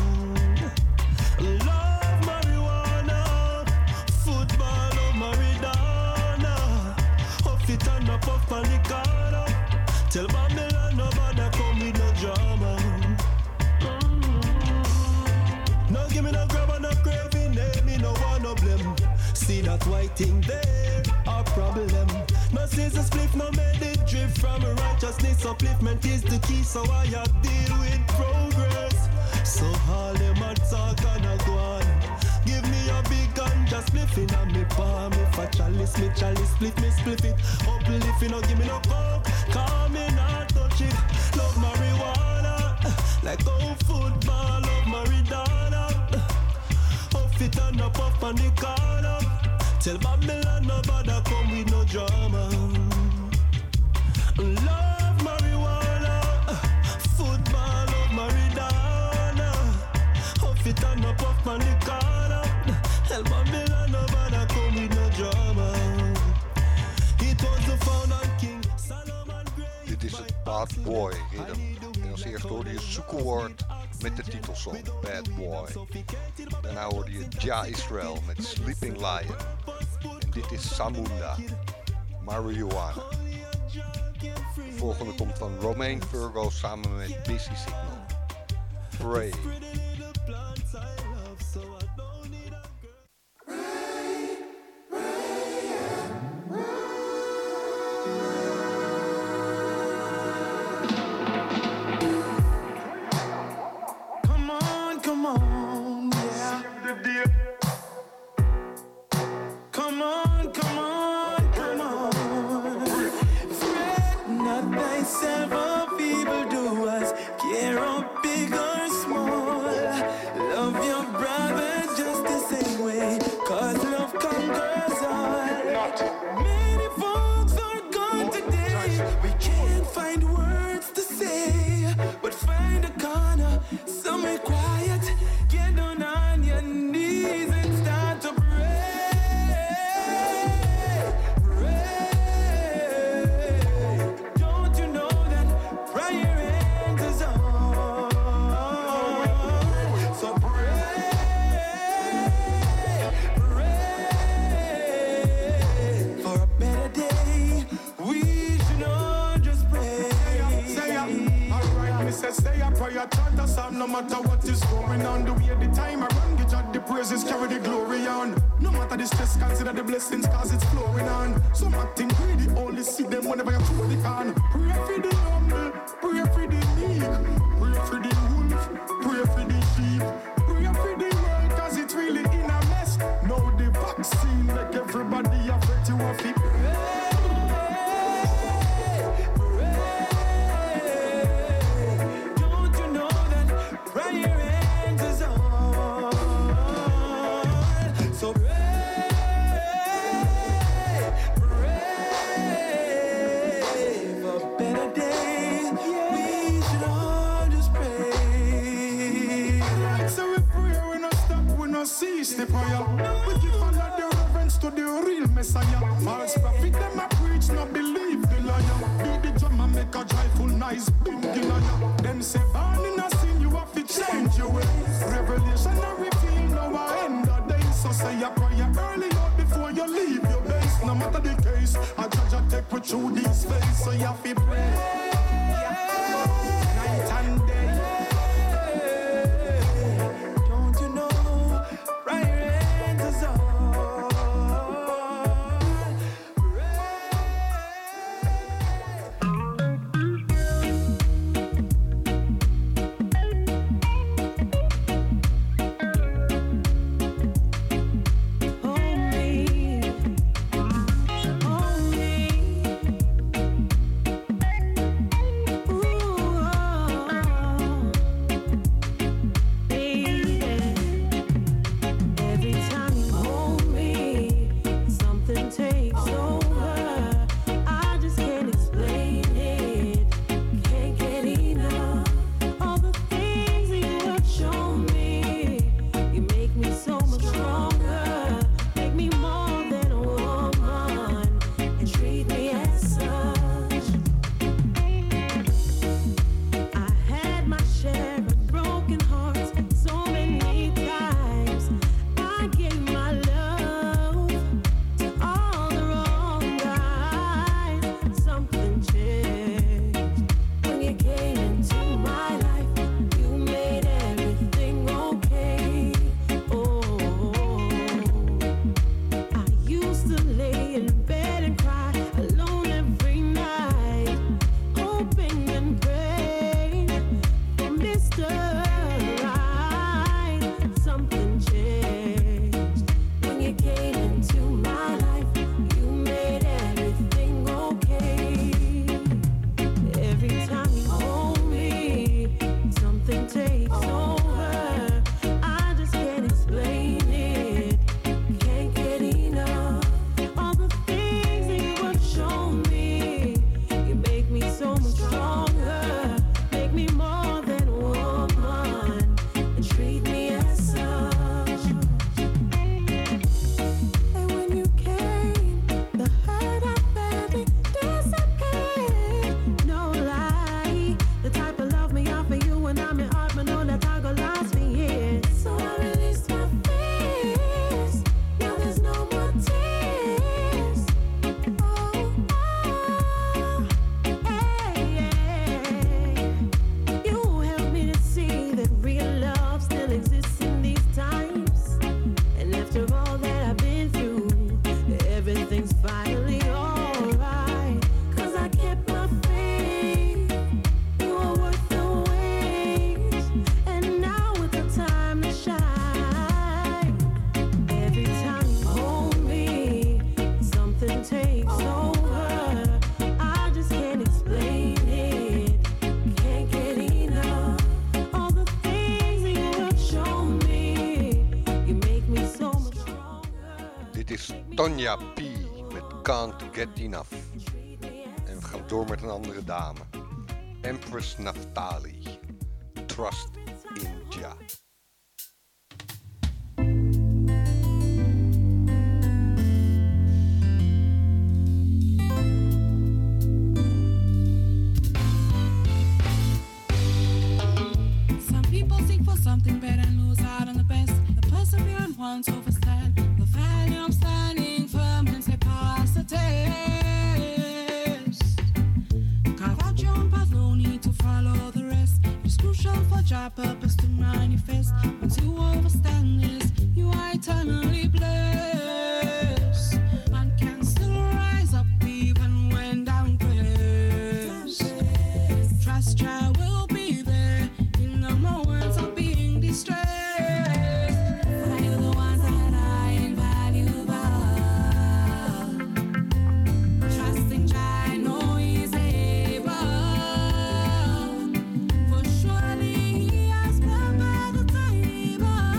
Love marijuana, football love Maradona. Huff it and a puff on the corner. Tell Babylon nobody come with no drama. No give me no grab and no craving, me no want no blame. See that white thing there, a problem. No scissors split, no made it drift from righteousness. Upliftment is the key, so I deal with progress. So all them a talk and a go on. Give me a big gun, just spliffing on me palm. If a chalice, me chalice, split me spliff it. Uplift, no give me no coke, call me not touch it. Love marijuana, like how football love Maradona. Huff it and a puff on the corner. Tell Babylon nobody come with no drama. Love marijuana, football love Maradona. Huff it and a puff on the corner. Tell Babylon nobody come with no drama. It was the founder king Solomon Gray. Dit is het Bad Boy Rhythm. En als eerste hoorde je Sukkoward met de titelsong Bad Boy. Daarna hoorde je Ja Israel met Sleeping Lion. En dit is Samunda, Marijuana. De volgende komt van Romain Virgo samen met Busy Signal. Pray. Come on, yeah. Come on. Fret not thyself of evildoers, care of big or small. Love your brother just the same way, 'cause love conquers all. Many folks are gone today, we can't find words to say, but find a corner, somewhere quiet, get down on your knees and start to pray. Don't you know that prayer answers all? So pray. For a better day, we should all just pray. Say a prayer, chant a psalm, no matter what is going on. The way the time around, get out the praises, carry the glory on. No matter the stress, consider the blessings, cause it's flowing on. Some acting greedy, only see them whenever you truly can. Pray for the humble, pray for the meek, pray for the wolf, pray for the sheep, pray for the world, cause it's really in a mess. Now the vaccine, like everybody afraid to have it. Prayer answers all. Christ bringing on you. Them say born in a sin, you have to change your ways. Revelation and reveal now I end the day. So say a prayer early out before you leave your base. No matter the case, a judge a take you through this phase. So you have to pray night and day. Don't you know prayer answers all? Tonya P. met Can't Get Enough. En we gaan door met een andere dame. Empress Naftali. Trust in Jah. Some people seek for something better and lose out on the best. The perseverant ones overstand. The valiant standing firm and say pass the test. Carve out your own path, no need to follow the rest. It's crucial for your purpose to manifest. Once you understand this, you are eternally blessed. Man can still rise up even when down pressed. Trust Jah will be there in the moments of being distressed. For the ones that are invaluable. Trusting Jah, I know He's able. For surely He has prepared the table,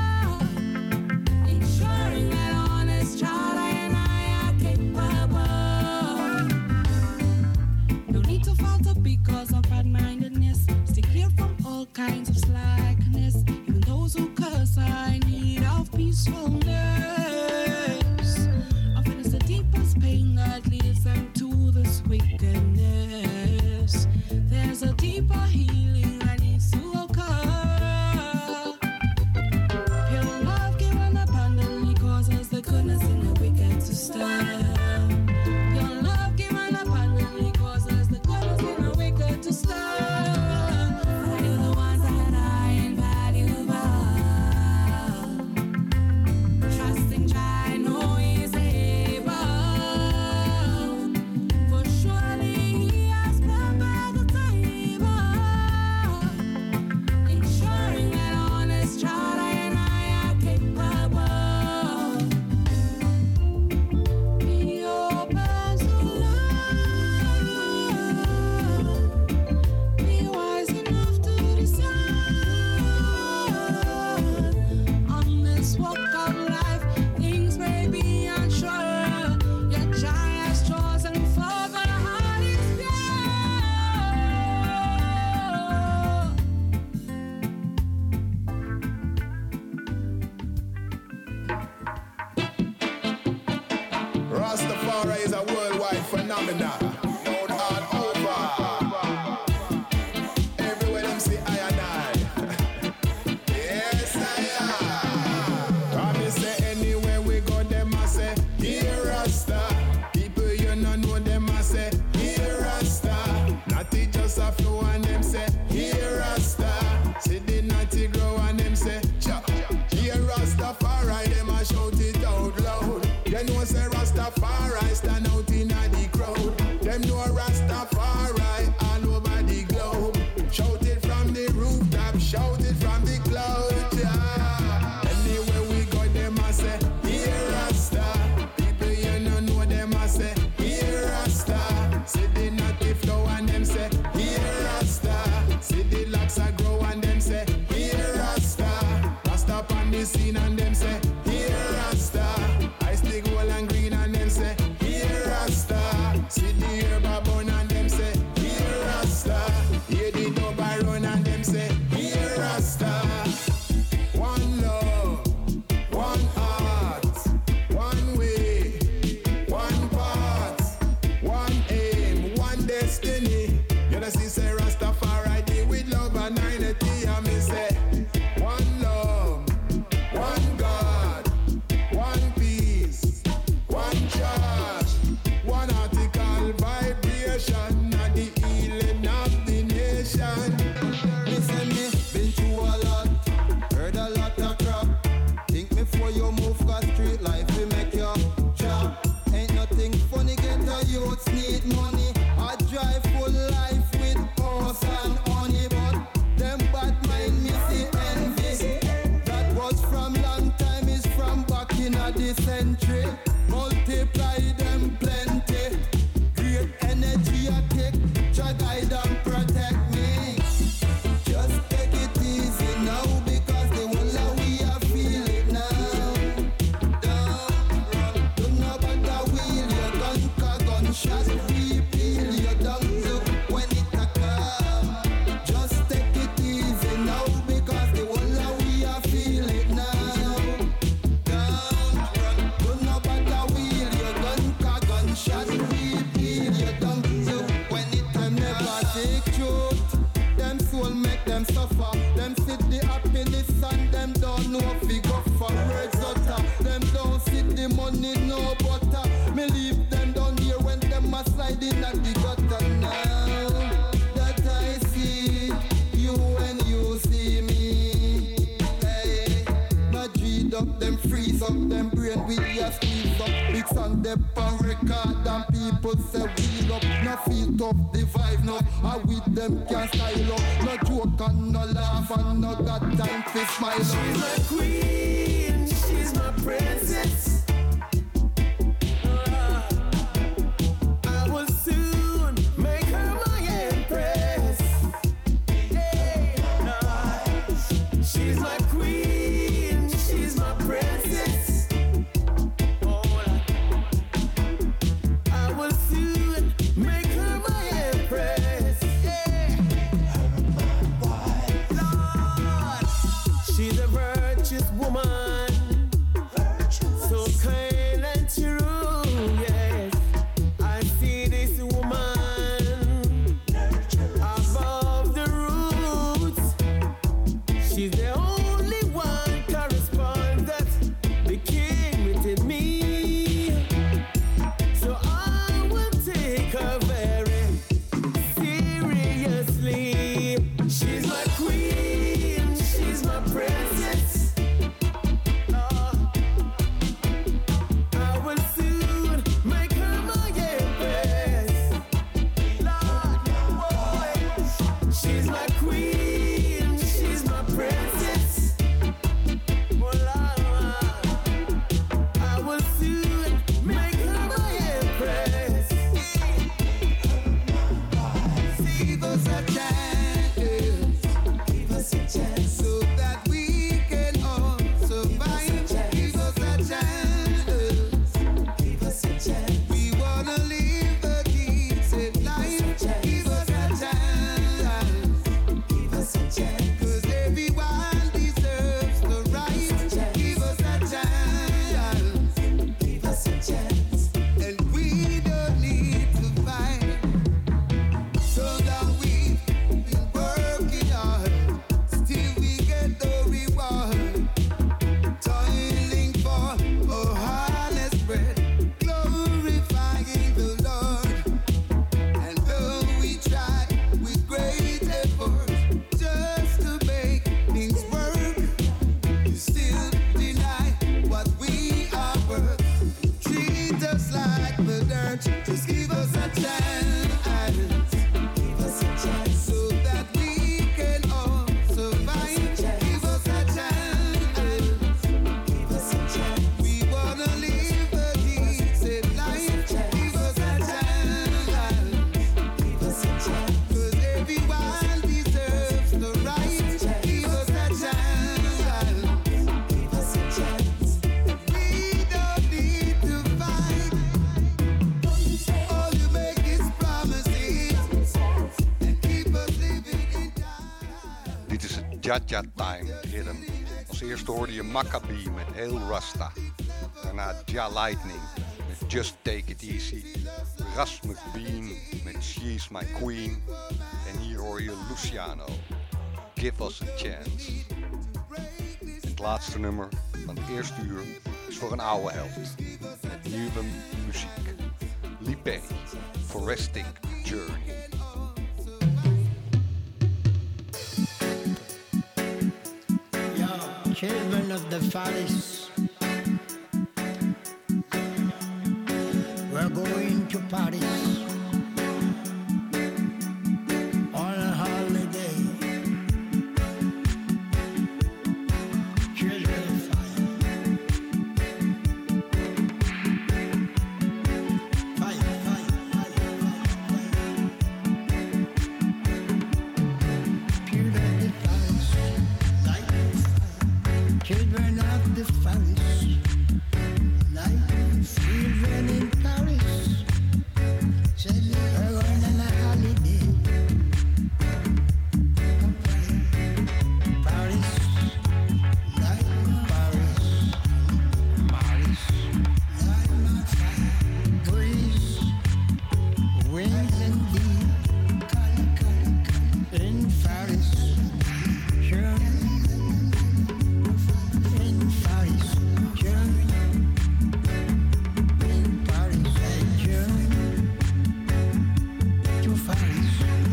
ensuring that honest child and I are capable. No need to falter because of bad-mindedness. Stay clear from all kinds of slackness. Even those who curse are in need of peacefulness. Often it's the deepest pain that leads them to this wickedness. universe. There's a deeper healing that needs to occur. Pure love given abundantly causes the goodness in the wicked to stir. Pure love given abundantly causes the goodness in the wicked to stir. Value the ones that are invaluable. Trusting Jah, know He's able. For surely He has prepared the table, ensuring that honest child and I are capable. Be open to love. Be wise enough to decide. On this walk of life, things may be unsure, yet Jah has chosen for the heart is pure. Rastafari is a worldwide phenomenon. Known all over. Everywhere them say I and I. Yes, I am. Come me say anywhere we go, them a say, here Rasta. People you no know them a say, here Rasta. Natty just a flow and them say, here Rasta. See the natty grow and them say, cha. Here Rastafari, them a shout it out loud. You know say Rastafari stand out in the crowd. Them know Rastafari all over the globe. Shout it from the rooftop, shout it from the cloud. Yeah. Anywhere we go, them a say, here Rasta. People you no know them a say, here Rasta. See the natty flow and them say, here Rasta. See the locks a grow and them say, here Rasta. Rasta on the scene and them say, here Rasta. I stick gold and green and them say, here Rasta. See the herb a bun and them say, here Rasta. Hear the dub a run and them say, here Rasta. One love, one heart, one way, one path, one aim, one destiny. You know see say Rastafari deal with love and unity. And me say, one love, one God, one peace, one church, one article vibration, and the healing of the nation. Listen me, been through a lot, heard a lot of crap. Think before you move, cause street life will make you job. Ain't nothing funny, get a youths need money. I drive full life with horse and honey, but them bad mind me see envy. That was from long time, is from back in the century. Multiply them plenty. Great energy I take, Jah guide and protect me. Just take it easy now, because the whole of we are feel it now. Don't run, do not bother wheel your gun, cause gunshot repeal your dung look when it a come. Just take it easy now, because the whole of we are feel it now. Don't run, do not bother wheel your gun, cause gunshot repeal your dung look when it time. Never take truth. Them soul make them suffer. Them see the happiness and them don't know if we go for words utter. Them don't see the money no butter. Me leave them down here when them a slide in at the gutter. Now that I see you when you see me, hey, not dreed up them, freeze up them brain with your squeeze up. Big song them on record and people say wheel up. No feel tough, the vibe no. I with them can't style up. No joke and no laugh and no got time to smile up. She's my queen, she's my princess. I will soon make her my empress. She's my queen, she's my princess. I will soon make her my empress. Lord, she's a virtuous woman, so Jaja Time Rhythm. Als eerste hoorde je Maccabi met Hail Rasta. Daarna Ja Lightning met Just Take It Easy. Ras McBean met She's My Queen. En hier hoor je Luciano, Give Us a Chance. Het laatste nummer van het eerste uur is voor een oude held. Met nieuwe muziek. Lipe, Forestic Journey. Children of the forest, we're going to Paris on a holiday. Children of fire, fire, fire, fire, fire, children of the forest, light of fire. Children of the forest, like children in Paris, said they're going on a holiday. Paris, like Paris, Paris, like my fire, breeze, winds and deep, in Paris, sure. In Paris, Germany. In Paris, Germany. To Paris,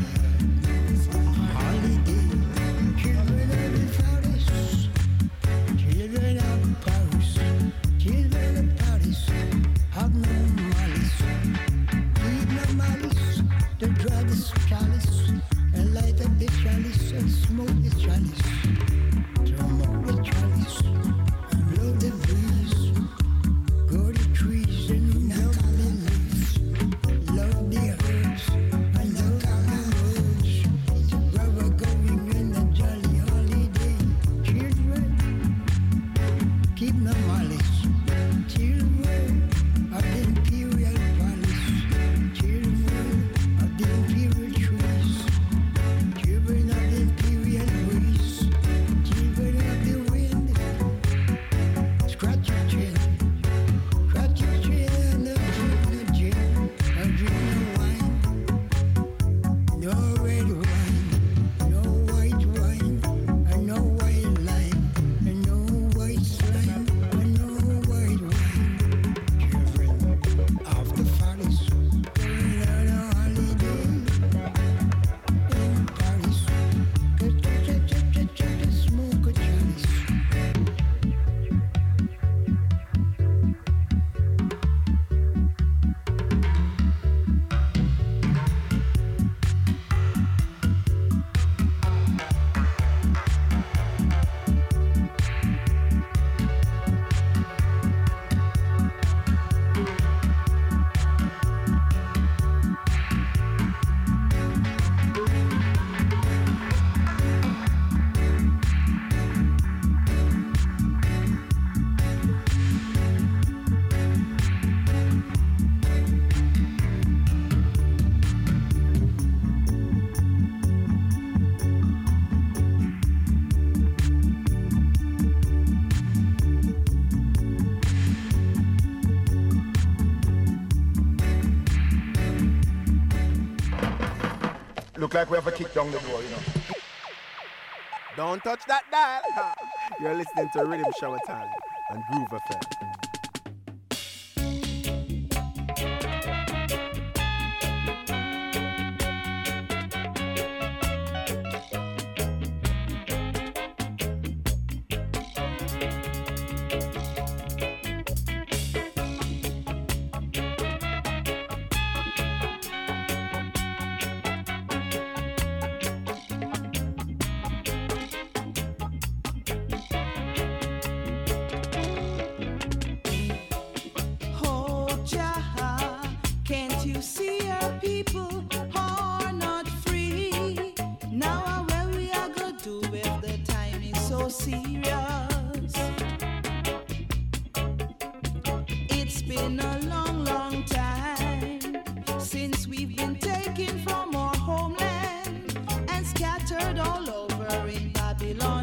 holiday. Children of the Paris, children of Paris, children of Paris, have no malice. Need no malice. The drug is chalice, and light up the chalice and smoke the chalice. Smoke the chalice. Blow the breeze, go the trees and knock on the leaves. Love the herbs and look on the roads. Brother going in a jolly holiday. Children, keep no malice. Children of the imperial palace. Children of the imperial trees. Children of the imperial breeze. Children of the wind. Scratch your chin, scratch your chin, no drink no wine, no red wine, no white wine, and no white lime, and no white slime, and no white wine. Children of the forest, going on a holiday in Paris. Smoke a chalice. Look like we have a kick down the door, you know. Don't touch that dial. You're listening to Rhythm Shower Time and Groove FM. Babylon.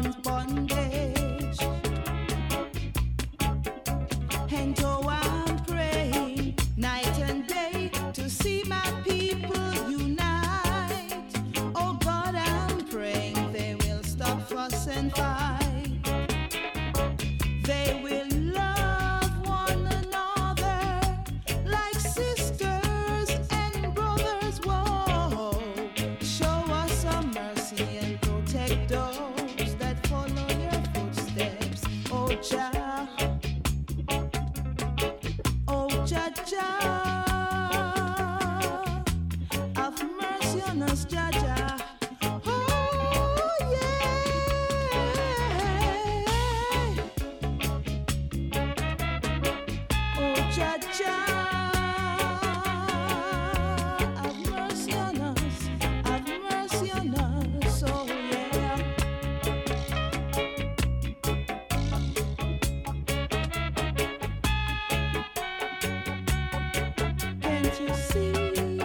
on us, Jaja. Oh, yeah. Oh, Jaja. Have mercy on us. Have mercy on us. Oh, yeah. Can't you see?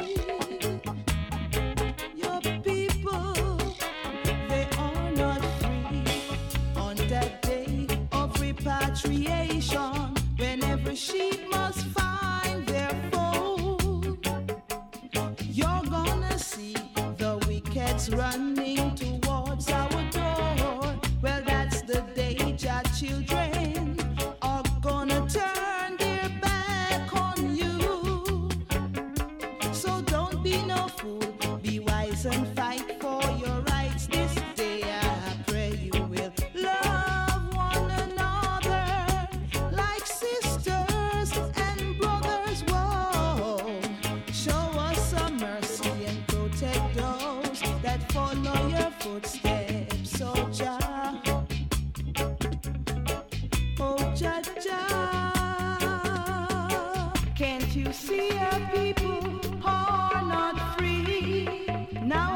Your people, they are not free on that day of repatriation, when every sheep must find their fold. You're gonna see the wickeds running towards our door. Well, that's the day your children are gonna turn their back on you. So don't be no fool, be wise and fight for your rights this day. I pray you will love one another like sisters and brothers. Whoa, show us some mercy and protect those that follow your footsteps. So Jah, oh Jah Jah, can't you see our people are not free? Now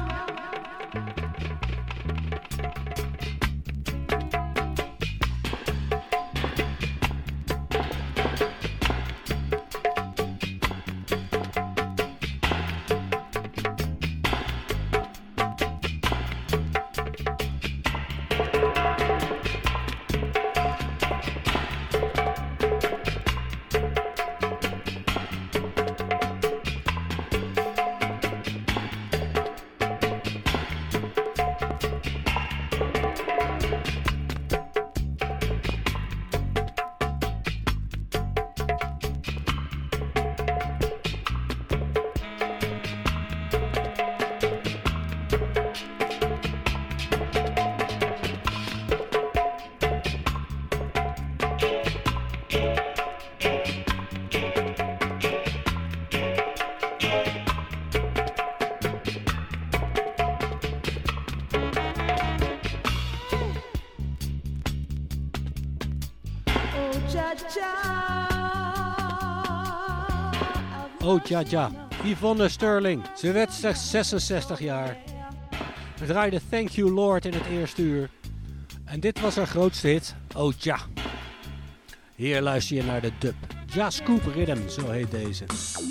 Oh Jaja, Yvonne Sterling. Ze werd slechts 66 jaar. We draaiden Thank You Lord in het eerste uur. En dit was haar grootste hit, Oh Ja. Hier luister je naar de dub. Ja Scoop Rhythm, zo heet deze.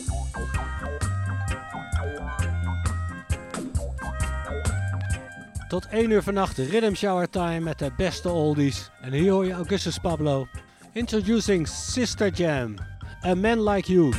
Tot 1 uur vannacht Rhythm Shower Time met de beste oldies. En hier hoor je Augustus Pablo. Introducing Sister Jam. A Man Like You.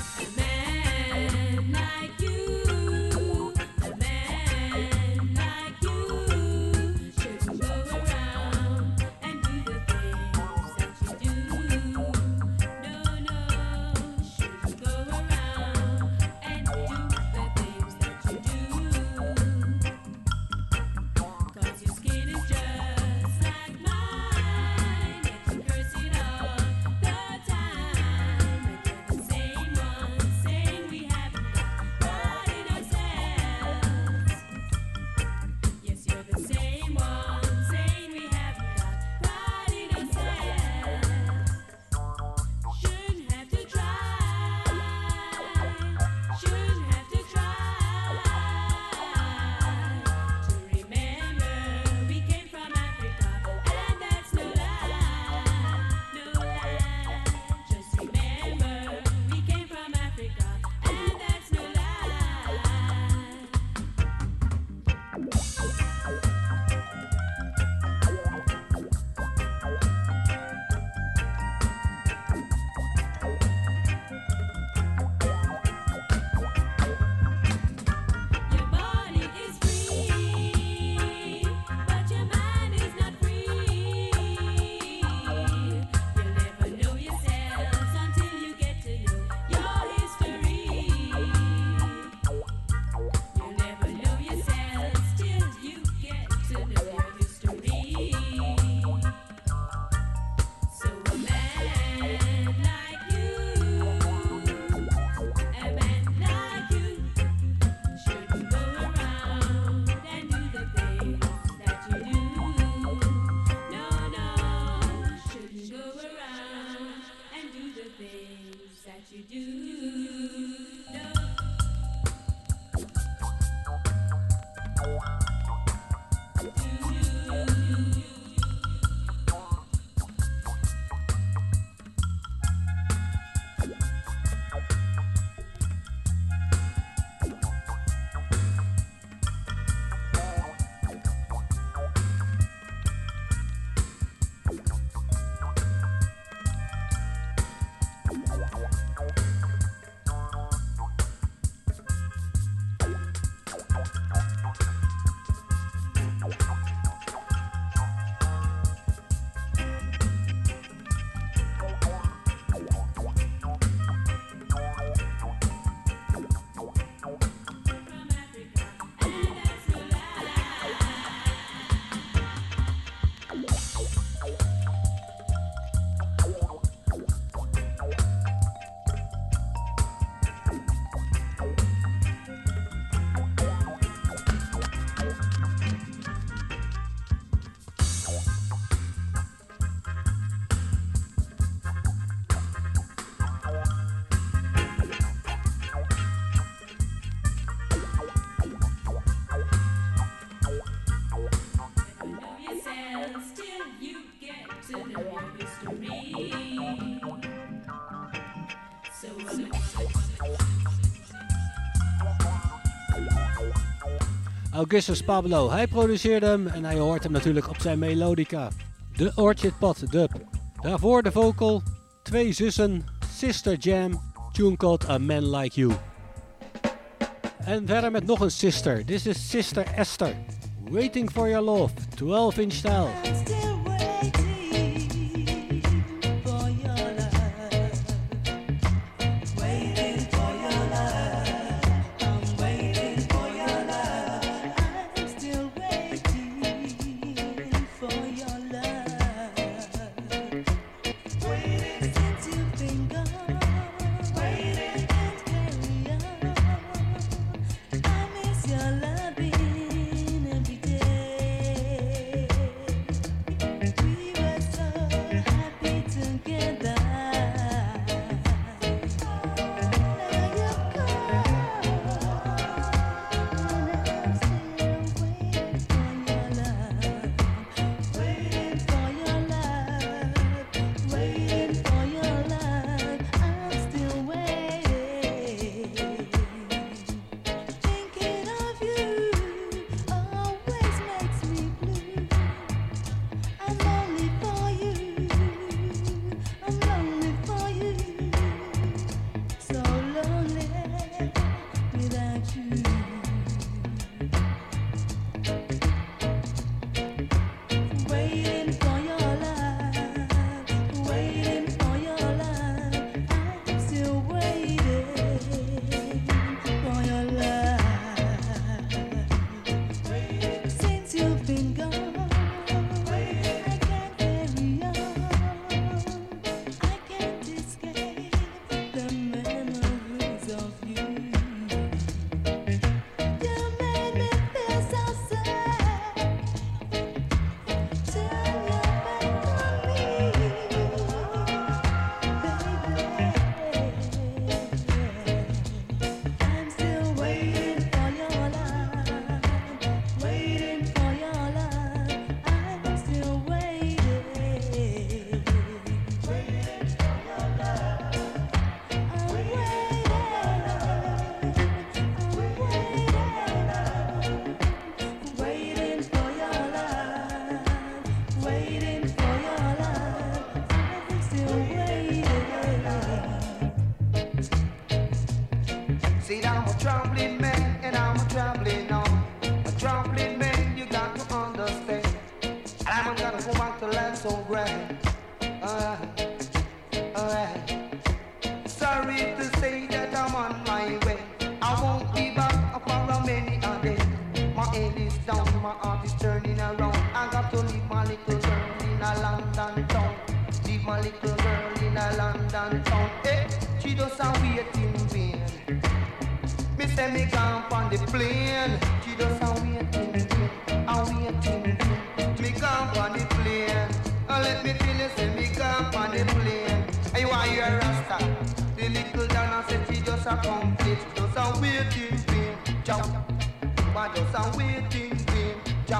Same one. Augustus Pablo, hij produceerde hem en hij hoort hem natuurlijk op zijn melodica. De Orchid Pot dub. Daarvoor de vocal, 2 zussen, Sister Jam, tune called A Man Like You. En verder met nog een sister, this is Sister Esther. Waiting for Your Love, 12-inch style. Just a waiting,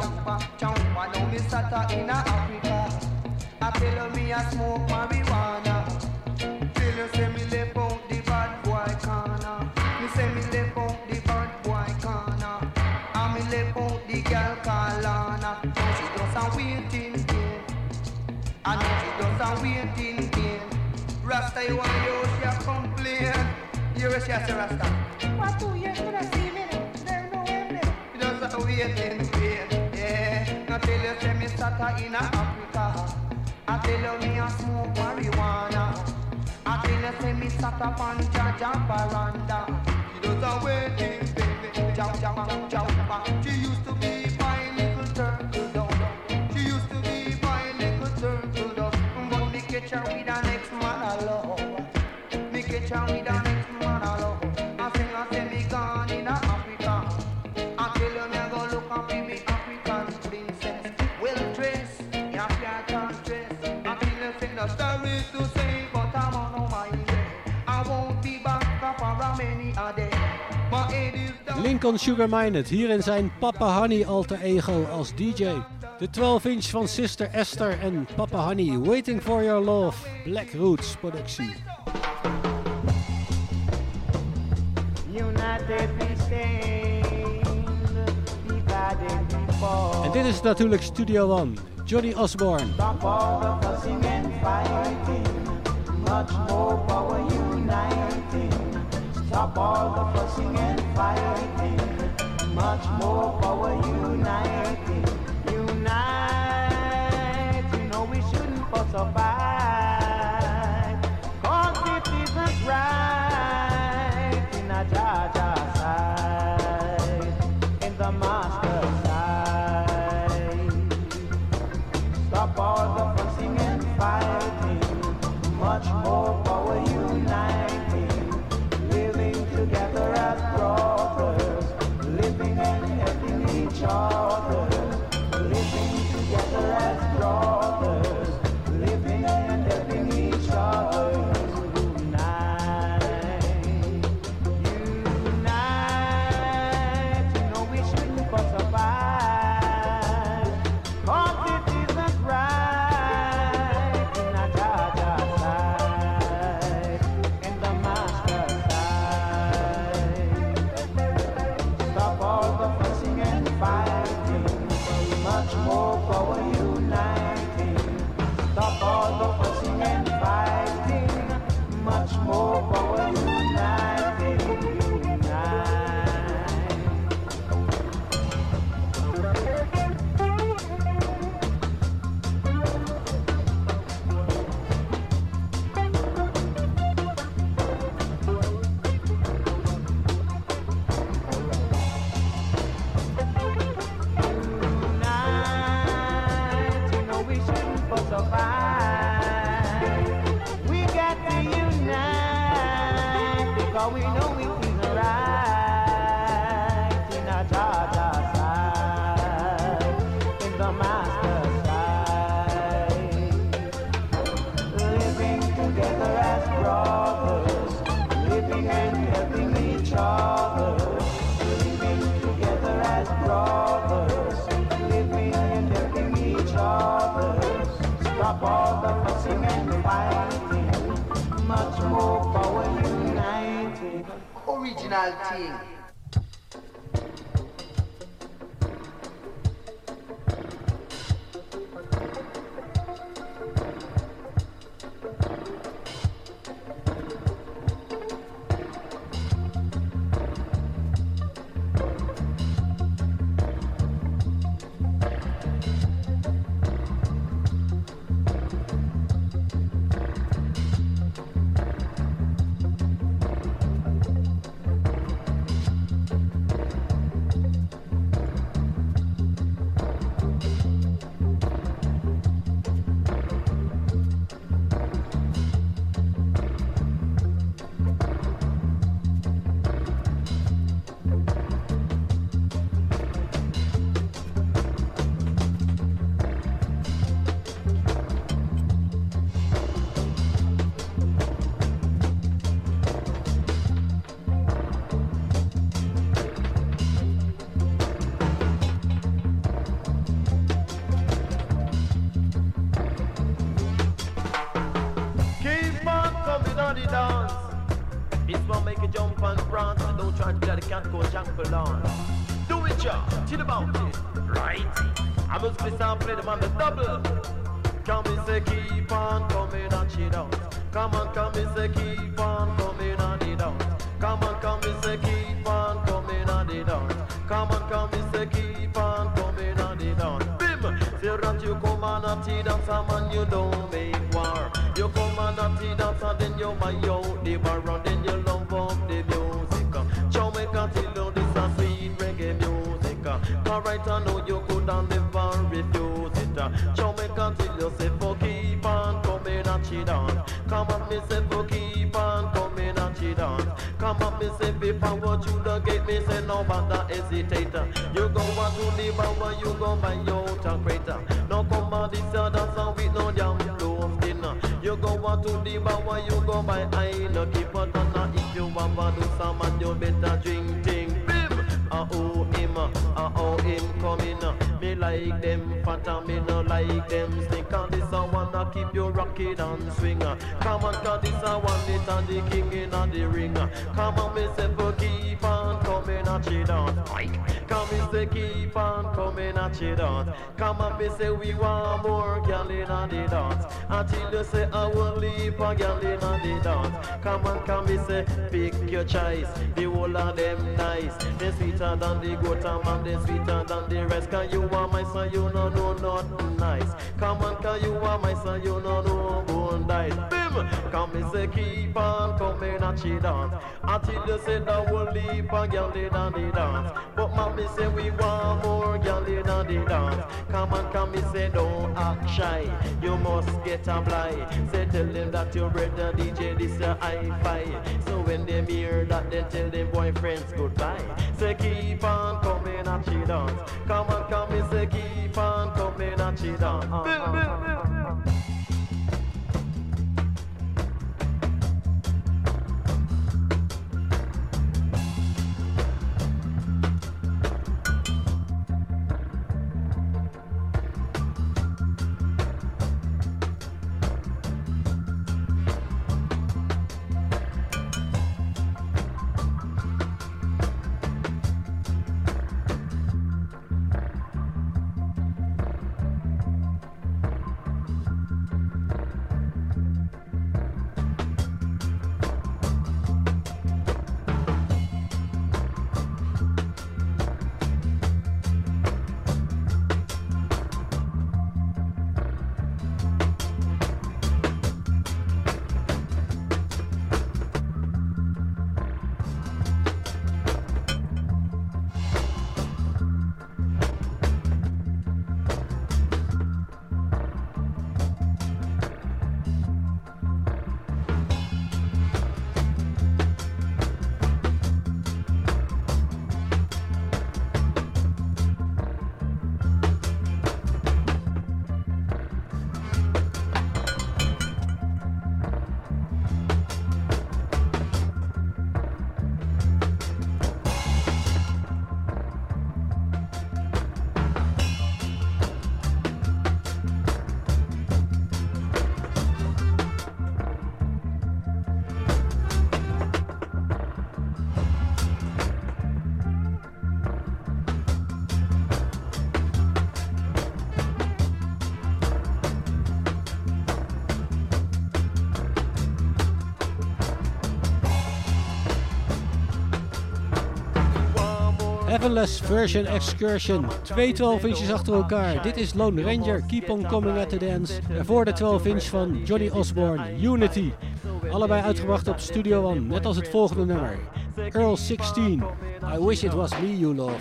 Jumpa, jumpa, now me sata in Africa. I tell me I smoke marijuana. Tell you say me left out the bad boy corner. Me say me left out the bad boy corner. And me left out the girl called Lana. Now she just a waiting game. And now she just a waiting game. Rasta, you want you she a complain. You wish you say Rasta. What do you should have seen me? There no way. You just a waiting game. Yeah. Now tell you say me sata in Africa. I tell you me a smoke marijuana. I tell you say me sat up on Jaja veranda. She does a waiting baby. Jump, jump, jump, jump. She used to be my little turtle dove. She used to be my little turtle dove. But me catch her with an ex-man I love. Me catch her with an ex-man I love. I say me gone in Africa. I tell you me I go look up in me African princess. Well dressed, in a fair dress. I tell you say the story to say, but I'm on my way. I won't be back for many a day. My head is down. Lincoln Sugar Minott, hier in zijn Papa Honey alter ego als DJ. De 12-inch van Sister Esther en Papa Honey, Waiting for Your Love, Black Roots productie. En dit is natuurlijk Studio One, Johnny Osborne. Stop all the fussing and fighting, much more power uniting. Stop all the fussing and fighting, much more power uniting. Unite, you know we shouldn't fuss or fight, 'cause it isn't right in a Jaja side, in the master side. Stop all the fussing and fighting, much more power uniting. Living together as brothers, living and helping each other. Living together as brothers, living and helping each other. Unite, unite. You know we shouldn't fuss or fight, 'cause it isn't right in a Jaja side, in the master side. Stop all the fussing and fighting, much more power uniting. Stop all the fussing and fighting, much more power uniting. We got to unite, because we know it is right in a Jaja side, in the master side. Living together as brothers, living and helping each other. Living together as brothers, living and helping each other. Stop all the fussing and fighting, much more power united. Original thing. automatically can't go jungle on. Do it, y'all, chill about it, right? I must be play them on the double. Come and say keep on coming and chill out. Come and say keep on coming and it out. Come and say keep on coming and it out. Come and say keep on coming and it out. Bim! Say that you come and a tea dance and you don't make war. You come and a tea dance and then you buy out the bar and then you love up the music. Jamaica till you this a sweet reggae music. Alright, I know you could and never refuse it. Jamaica till you say for keep on coming and cheat on. Come on, me say for keep on coming and cheat on. Come on, me say before what you the gate, me say no bother hesitate. You go on to the bar, you go by your crater. No come on this other song with no damn loaf dinner. You go on to the bar, you go by I no keep on if you want to do some and you better drink thing. Bim! Oh him coming. Me like them fat and me no like them sneak. And this a wanna keep you rocking and swing. Come on, cause this a one it and the king in the ring. Come on, me say for keep on coming and cheat on. Come me say keep on coming and cheat on. Come on, me say we want more gal in the dance. Until you say I will leave a gal in the dance. Come on, me say pick your choice. The whole of them nice. They sweeter than the goat and they sweeter than the rest. Cause you are my son, you no know nothing nice. Come on, cause you are my son, you no know bone dice. Bim! Come me say keep on coming and cheat on. Until you say that we'll leave a girl in the dance. But mommy say we want more girl in the dance. Come on, me say don't act shy. You must get a blind. Say tell them that your brother DJ this your hi-fi. So when they hear that, they tell them boyfriends goodbye. Say keep on coming and cheat on. Come on, me say keep on coming and cheat on. Heavenless Version Excursion. 2 12-inches achter elkaar. Dit is Lone Ranger, Keep on Coming at the Dance. En voor de 12-inch van Johnny Osborne, Unity. Allebei uitgebracht op Studio One, net als het volgende nummer. Earl 16, I Wish It Was Me You Love.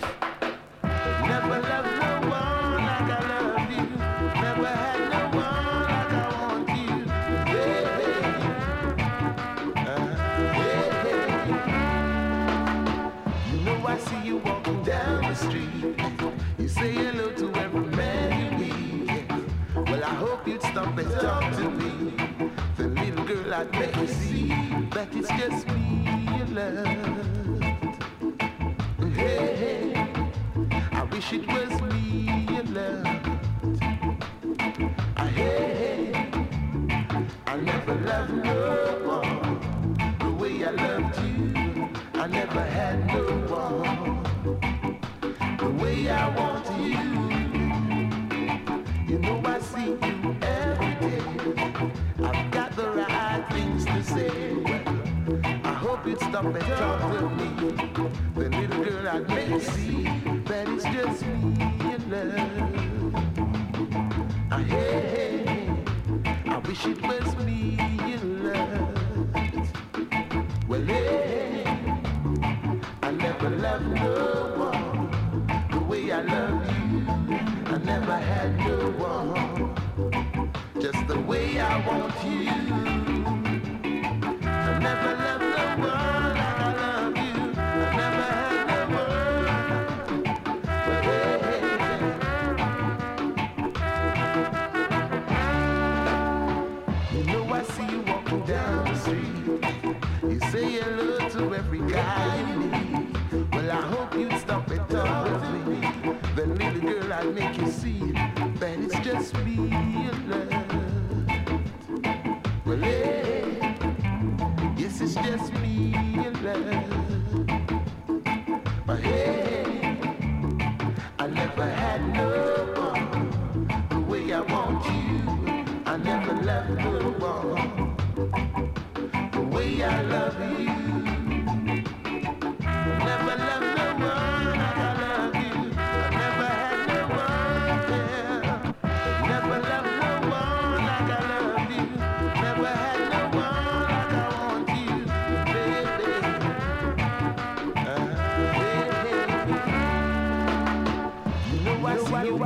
Stop and talk to me. The little girl I'd make you see that it's just me you love. Hey, hey, I wish it was me you loved. Hey, hey, I never loved no more the way I loved you. I never had no way I want you. You know I see you every day. I've got the right things to say. Well, I hope you'd stop and talk with me. The little girl I'd make you see that it's just me in love. Hey, I wish it was me in love. Well, hey, I never loved no one the way I love you. I never had no one just the way I want you. I never loved no one like I love you. I never had no one. Well, hey, you know I see you walking down the street. You say hello to every guy you meet. Well, I hope you'd stop and talk with me. Then little girl, I'd make you see that it's just me in love. Well, hey, yes, it's just me in love. But hey, I never had no one the way I want you. I never loved no one the way I love you. Never loved no one like I love you. I never had no one, yeah. Never loved no one like I love you. Never had no one like I want you, baby. You know I see you.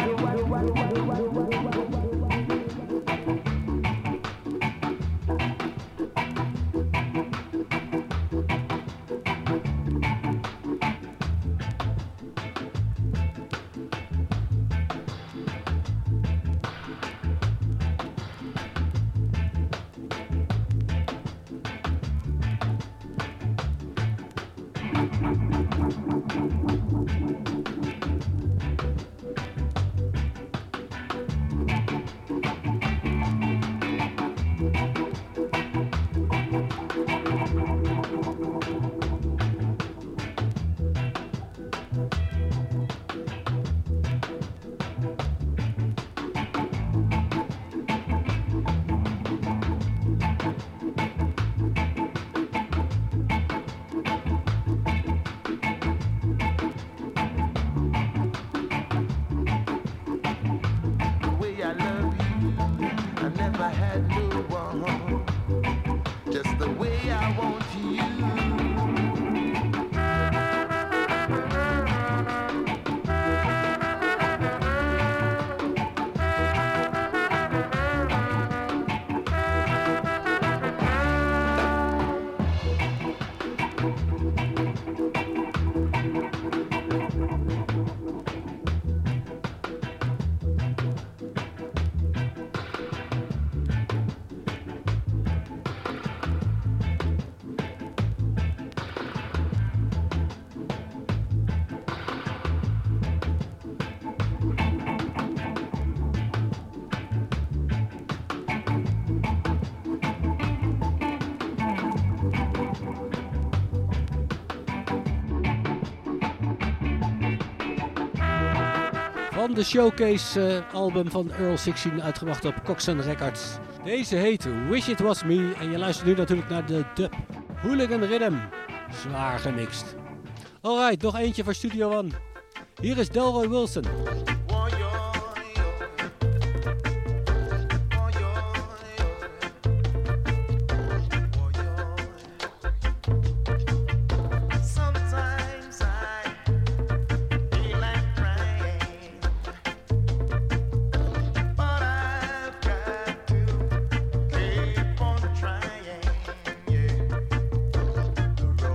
Van de Showcase album van Earl 16 uitgebracht op Coxsone Records. Deze heet Wish It Was Me en je luistert nu natuurlijk naar de dub. Hooligan Rhythm, zwaar gemixt. Alright, nog eentje voor Studio One. Hier is Delroy Wilson.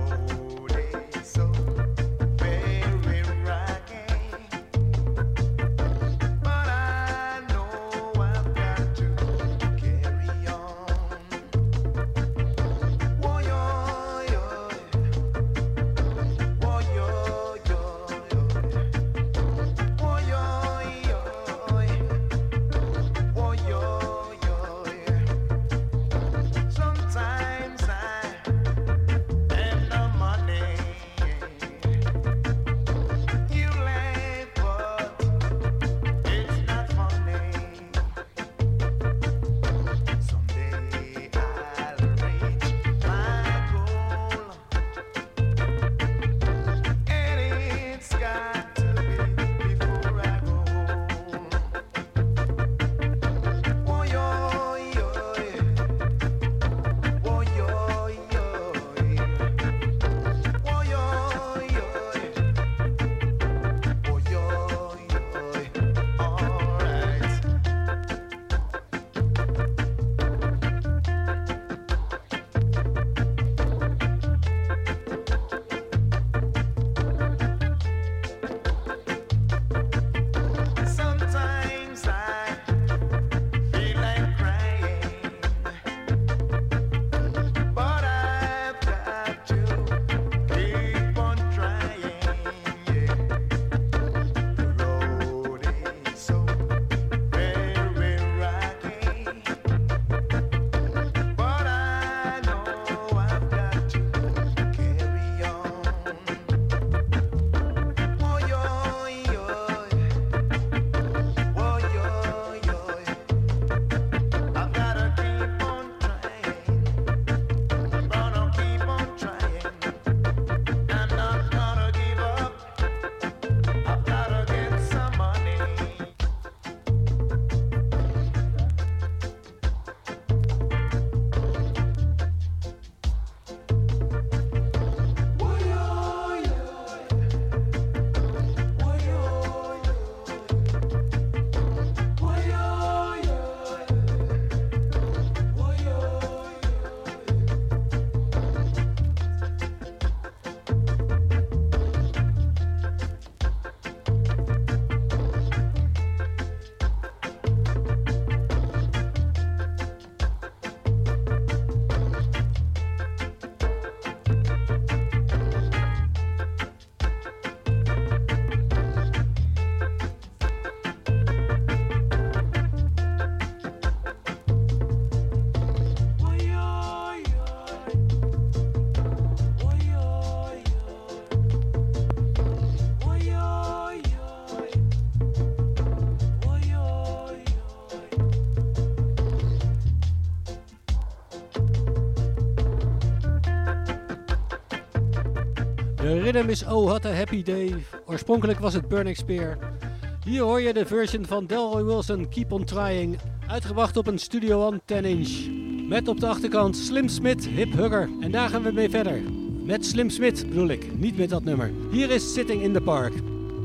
So very rocky. Rhythm is Oh What a Happy Day. Oorspronkelijk was het Burning Spear. Hier hoor je de version van Delroy Wilson, Keep on Trying. Uitgebracht op een Studio One 10-inch. Met op de achterkant Slim Smith, Hip Hugger. En daar gaan we mee verder. Met Slim Smith bedoel ik, niet met dat nummer. Hier is Sitting in the Park.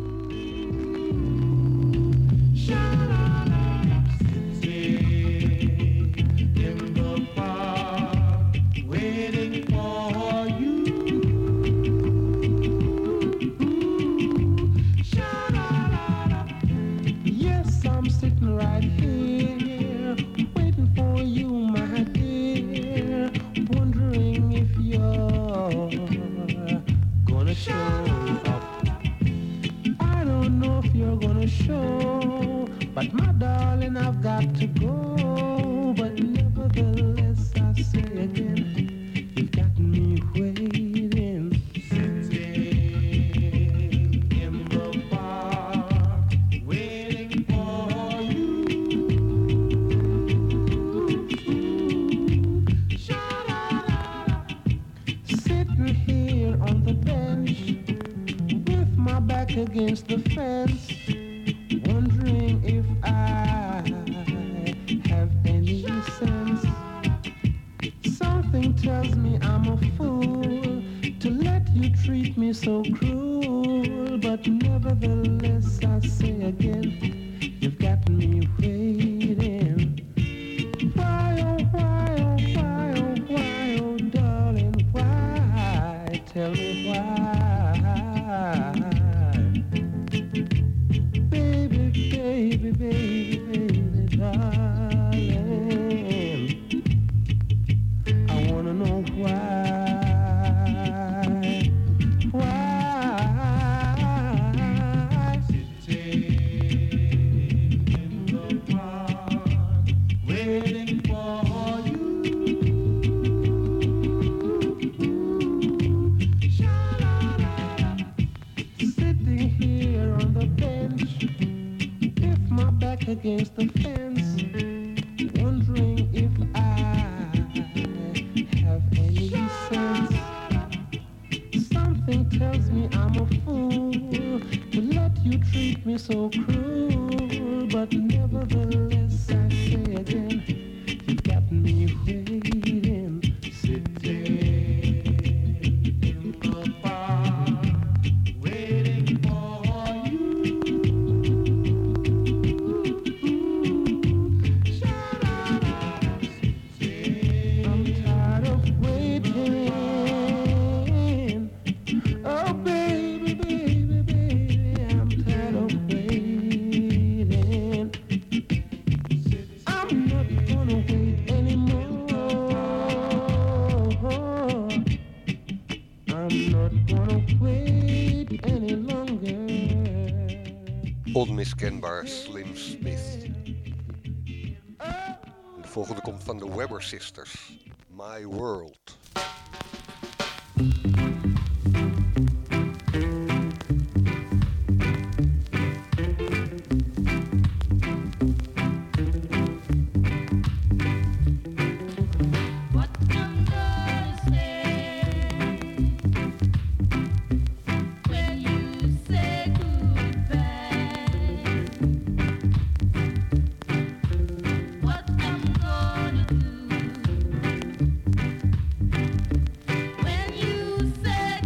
But my darling, I've got to go. But nevertheless, I say again, you've got me waiting. Sitting in the park, waiting for you. Sitting here on the bench, with my back against the fence. Wondering if I have any sense. Something tells me I'm a fool to let you treat me so cruel. But nevertheless, I say again, you've got me waiting. Why, oh, why, oh, why, oh, why, oh, darling, why? Tell me why. Baby, baby, darling, I wanna know why, sitting in the park, waiting for you, sitting here on the bench, my back against the fence, wondering if I have any sense. Something tells me I'm a fool to let you treat me so cruel. But nevertheless, I say again, you've got me waiting, sitting in the park, waiting for you. Onmiskenbaar Slim Smith. De volgende komt van de Webber Sisters. My World. When you say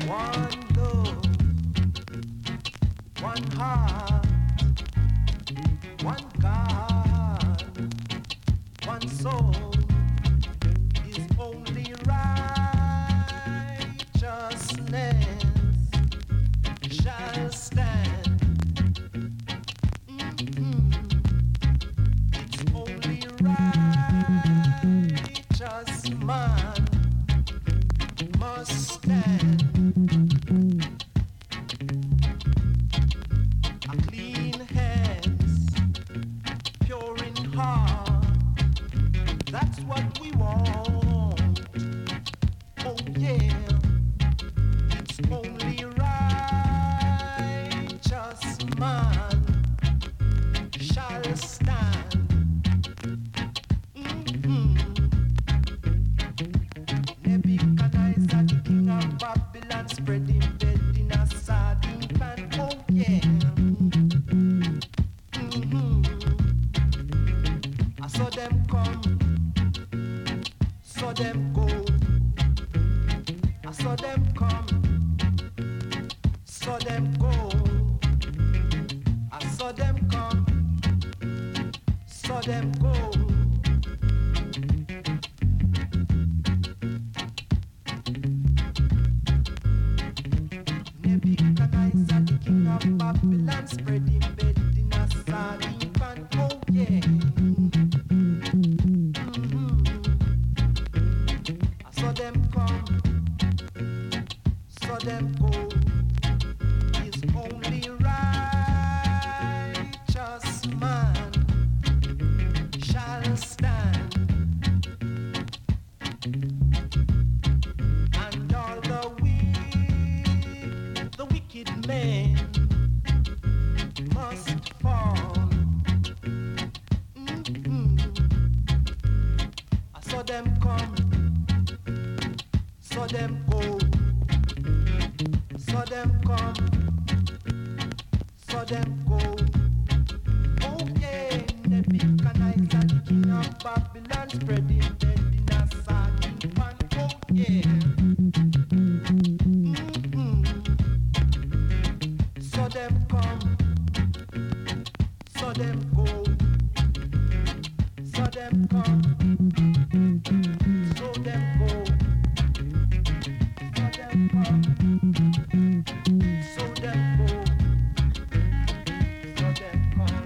One love, one heart, one God, one soul is only righteousness shall stand. It's only righteous man must stand. A clean hands, pure in heart, that's what we want. Oh yeah, it's only righteous man shall stand. Nebuchadnezzar, the king of Babylon, spread him bed in a sardine pan. Oh yeah. I saw them come, saw them go. I saw them come, saw them go. I saw them come, saw them go. Nebuchadnezzar, the king of Babylon, spread him bed in a sardine pan. Oh yeah. I saw them come, saw them go. Is only righteous man shall stand. And all the wicked men must fall. I saw them come, saw them go. Saw them come, saw them go. Oh yeah, Nebuchadnezzar, the king of Babylon, spread him bed in a sardine pan. Oh yeah. Saw them come, saw them go. Saw them come, saw them go. Saw them come. So them go, so them come.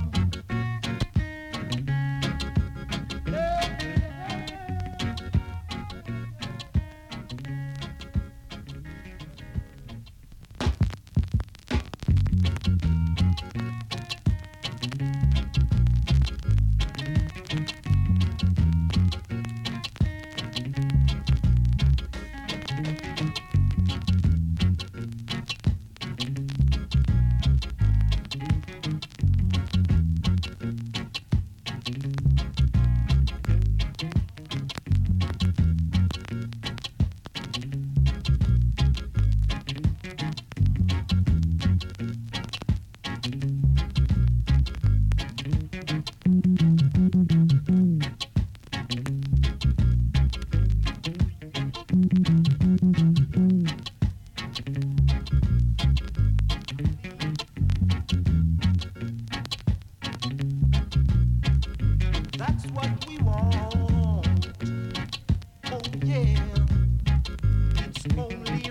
That's what we want. Oh yeah, it's only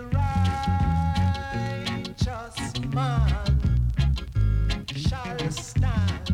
righteous man shall stand.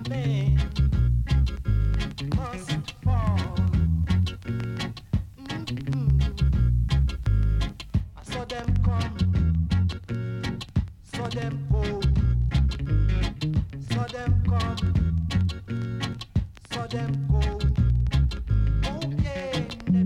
man must fall. I saw them come, saw them go, saw them come, saw them go. Okay.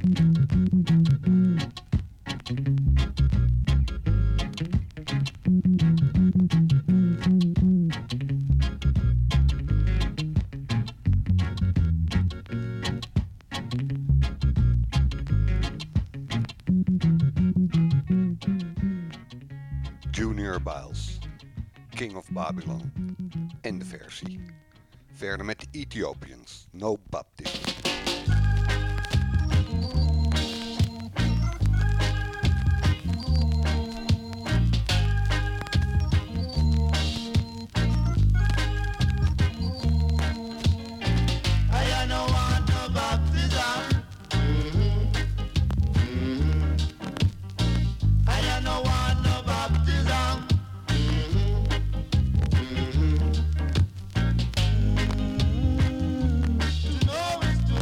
Junior Biles, King of Babylon en de versie. Verder met de Ethiopians, No Baptist. I don't want no baptism. I don't want no baptism. No, it's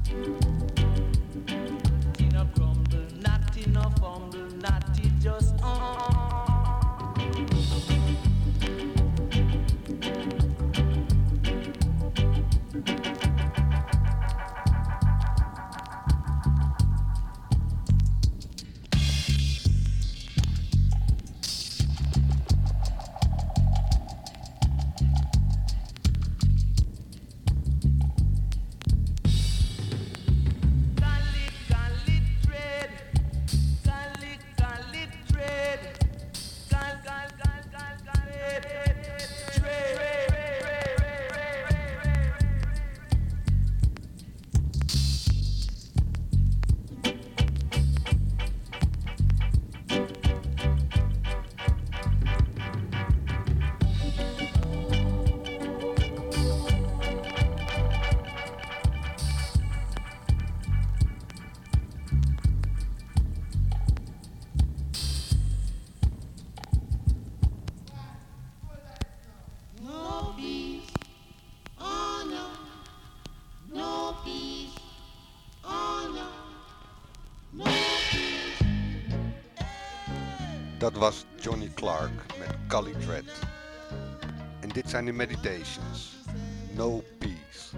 Dat was Johnny Clark met Cali Dread. En dit zijn de Meditations. No Peace.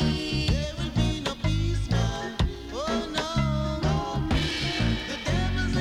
There will be no peace, no.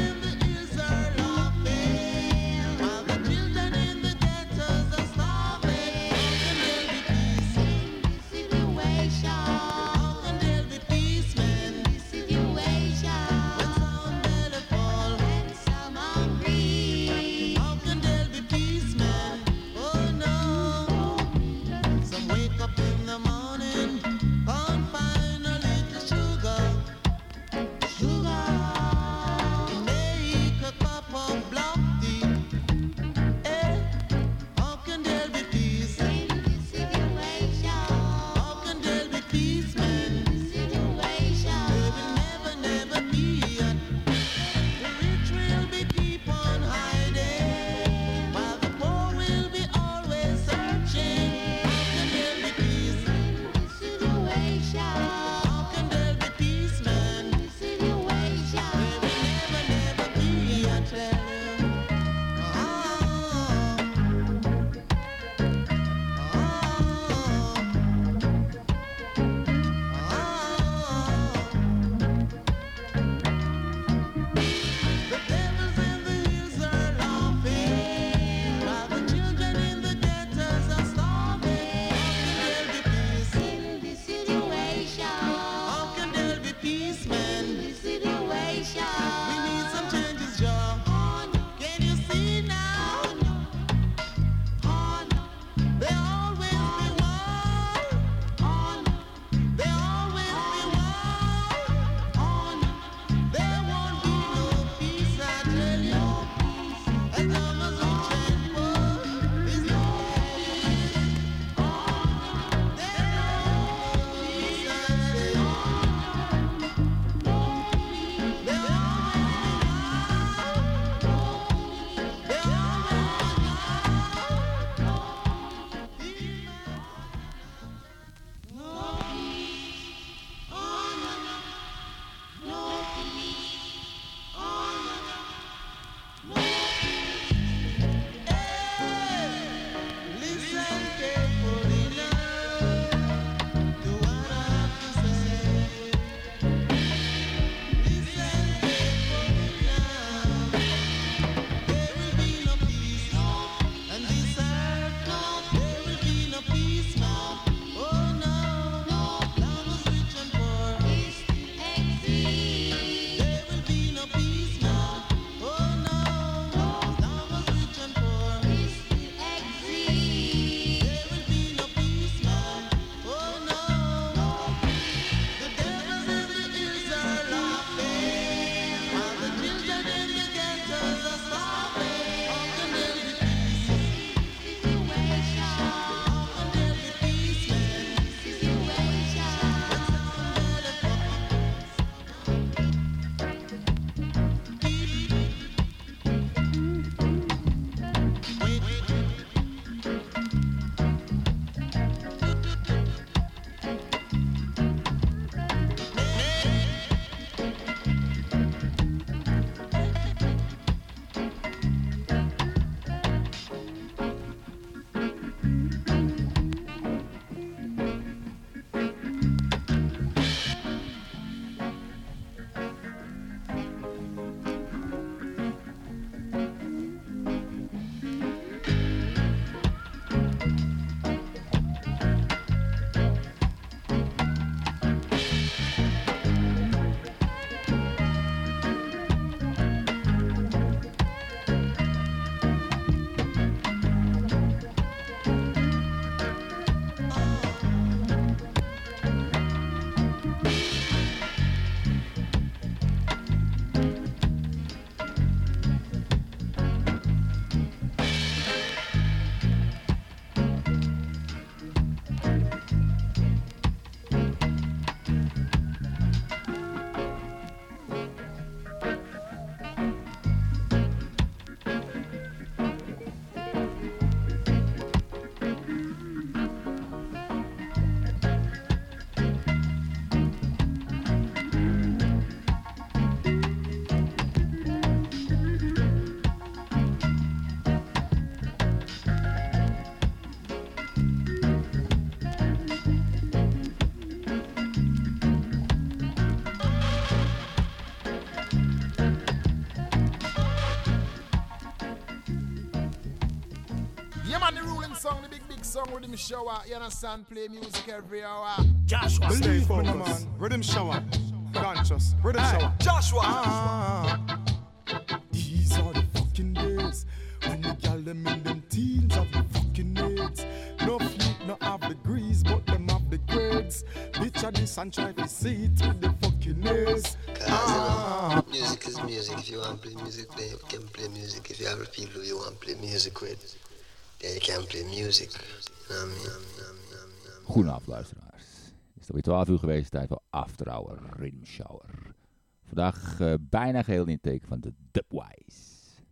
Yeah, man, the ruling song, the big song, Rhythm Shower. You understand? Play music every hour. Joshua, stay focused, man. Rhythm Shower. Conscious. Rhythm Shower. Joshua. These are the fucking days when the gal them in them teens have the fucking aids. No fleet, no have the grease, but them have the grades. Picture this and try to see it with the fucking aids. Music is music. If you want to play music, then you can play music. If you have people who you want to play music with, then you can play music. Goedenavond luisteraars. Het is alweer 12 uur geweest, tijd voor After Hour Rhythm Shower. Vandaag bijna geheel in het teken van de Dubwise.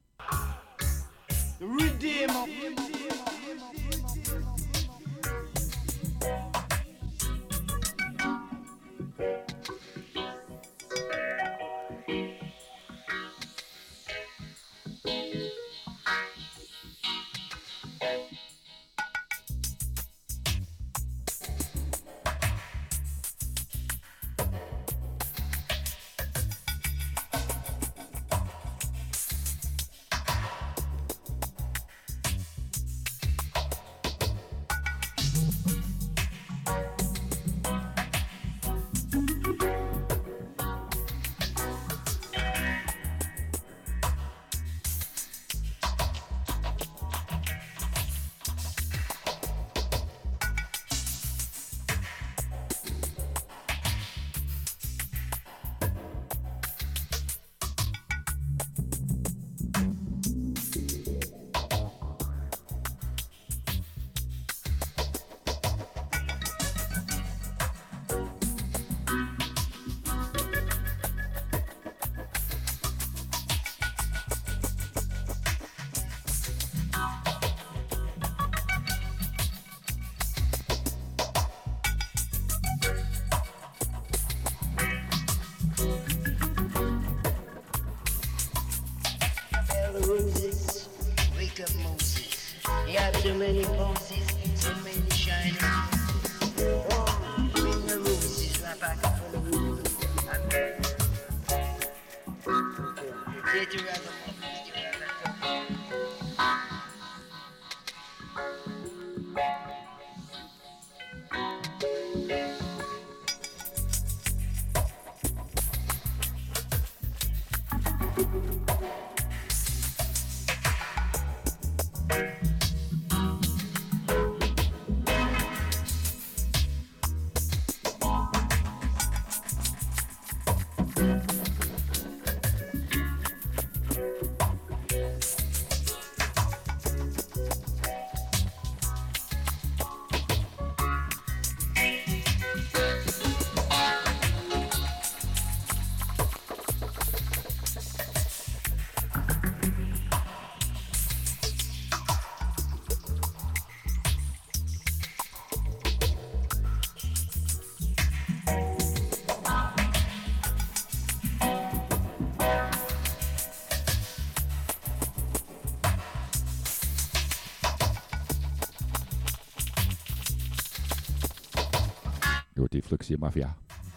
Redeemer. So many poses, so many shining. Bring the roses right back for the room. Get you right up, get you right Die Fluxie Mafia.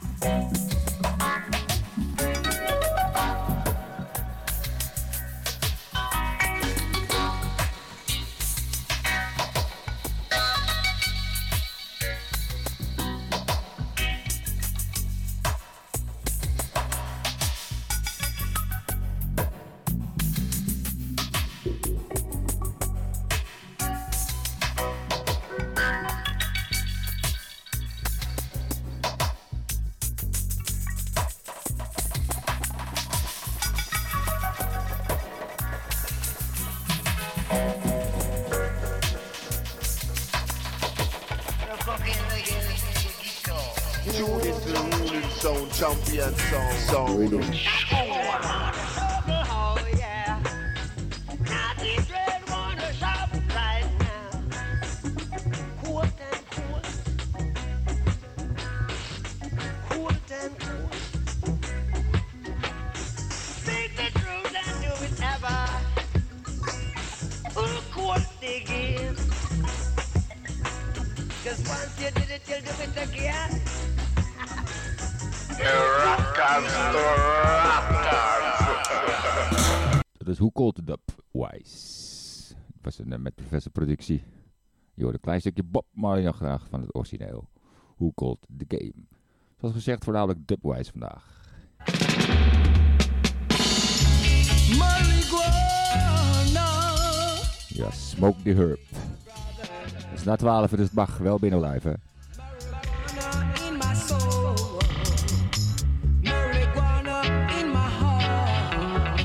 Champion sound. Dat is Who Called the Dubwise. was een met Professor productie. Je hoort een klein stukje Bob Marley nog graag van het origineel. Who Called the Game. Zoals gezegd, voornamelijk dubwise vandaag. Ja, Smoke the Herb. Het is na 12, dus het mag wel binnen blijven. In my soul, marijuana in my heart.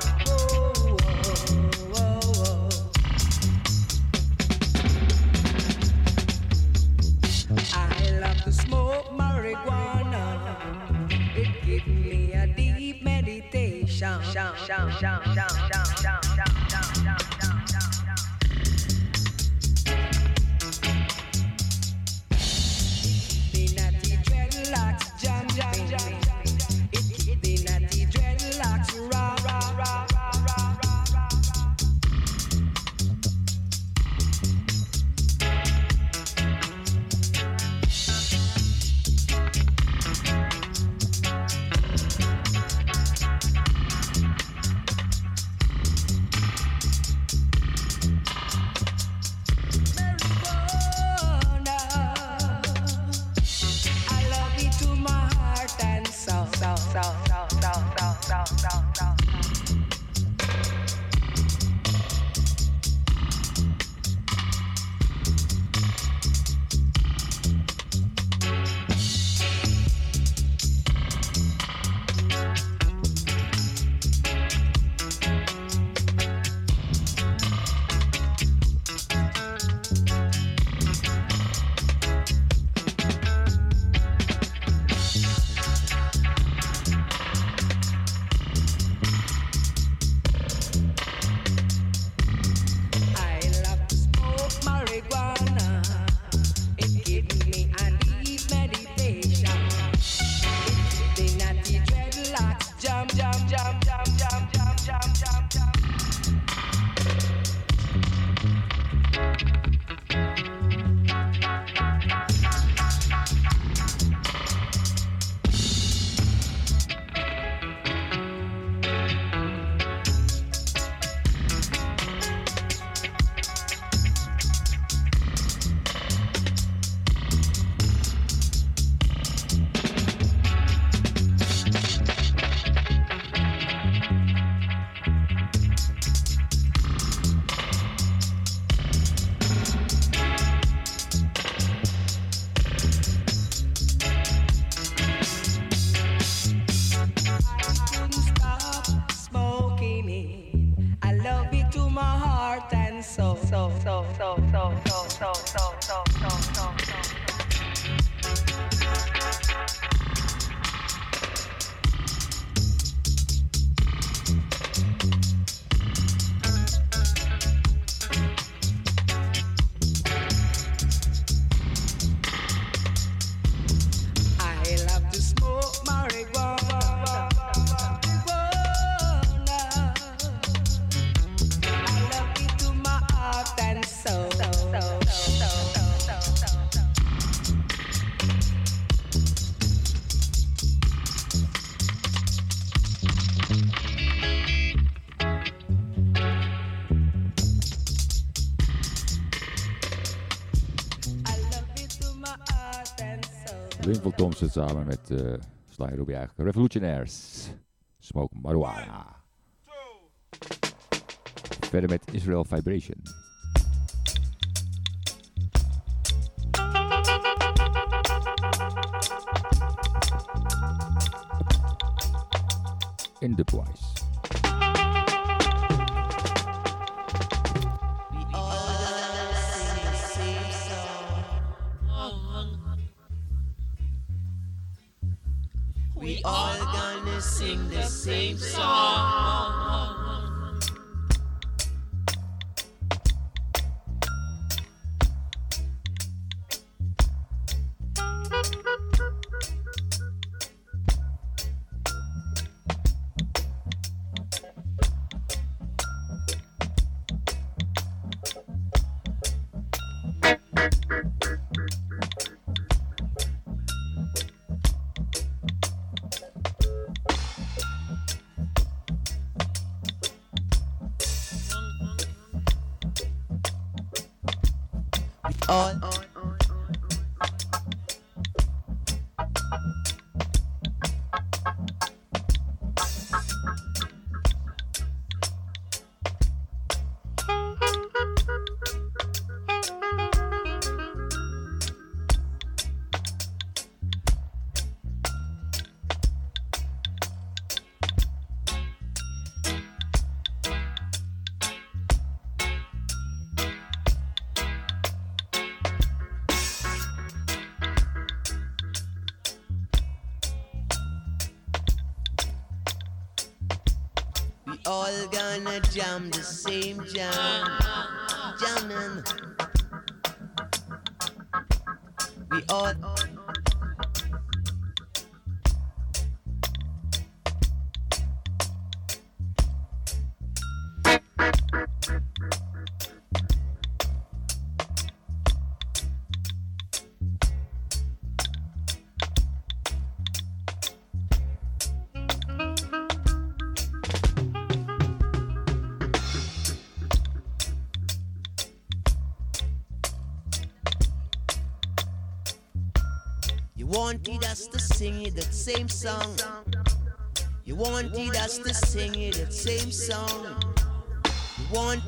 I love to smoke marijuana. It gives me a deep meditation. Linval Thompson samen met Sly Robbie eigenlijk. Revolutionaires. Smoke Marijuana. Verder met Israel Vibration. In Dubwise. We all gonna sing the same song. all. All gonna jam the same jam, jamming. We all. Wanted us to sing it that same song. You wanted us to sing it that same song. You want.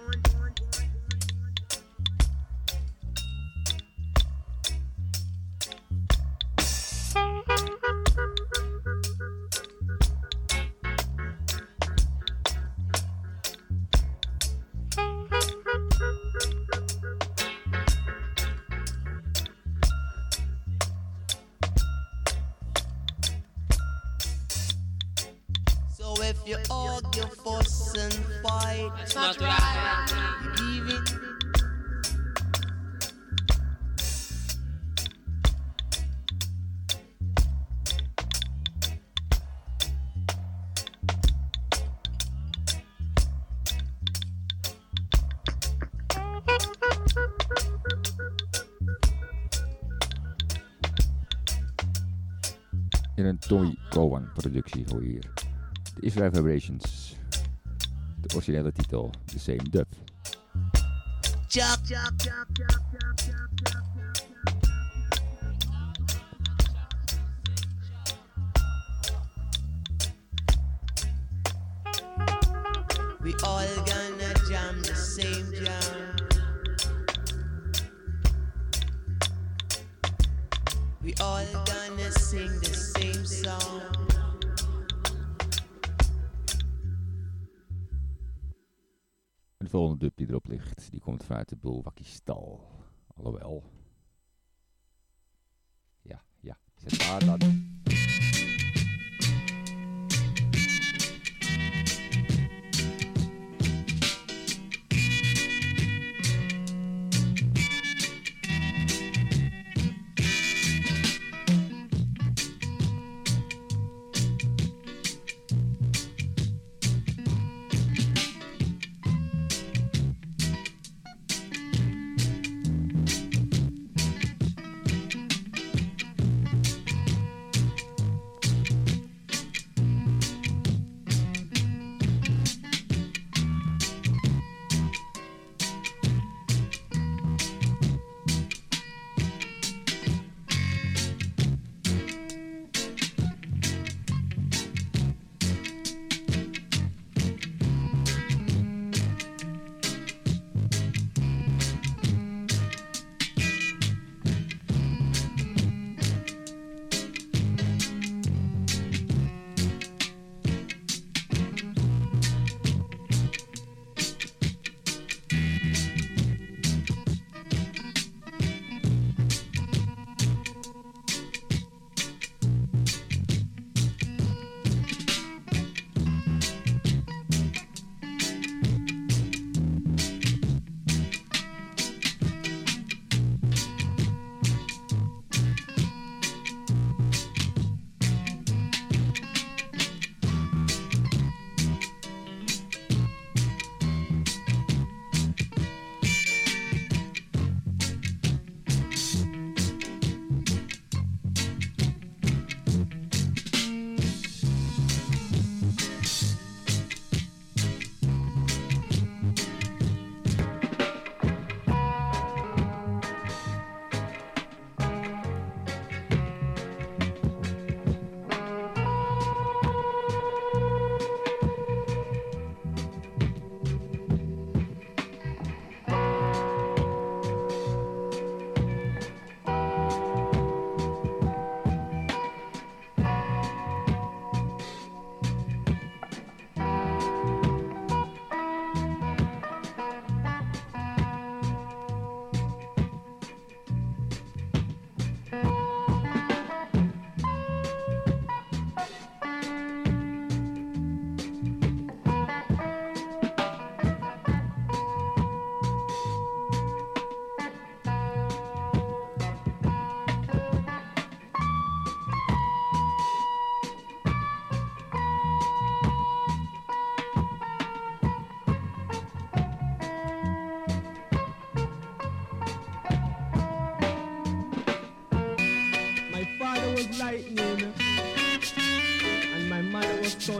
If you argue, fuss and fight, it's not right. You leave it. In een Tommy Cowan productie hoor je hier de Israel Vibrations. De originele titel, The Same Dub. We all gonna jam the same jam. We all gonna sing the same song. En de volgende dub die erop ligt, die komt vanuit de Bulwakistal. Alhoewel. Ja, zet daar dan.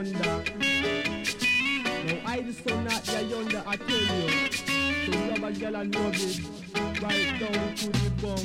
yonder. Now I the son not there yonder, I tell you. So love a girl and love it, right down to the bum.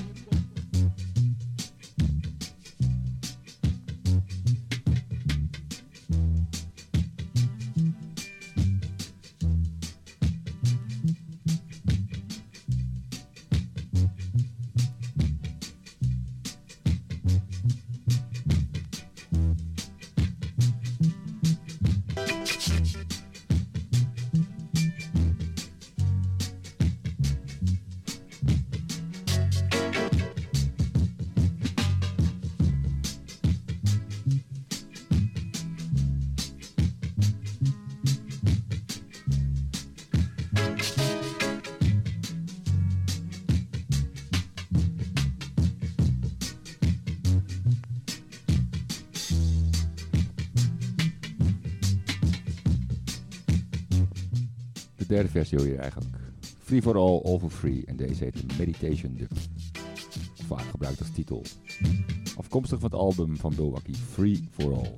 De derde versie hoor je eigenlijk. Free for All, All for Free. En deze heet Meditation Dub. Vaak gebruikt als titel. Afkomstig van het album van Milwaukee, Free for All.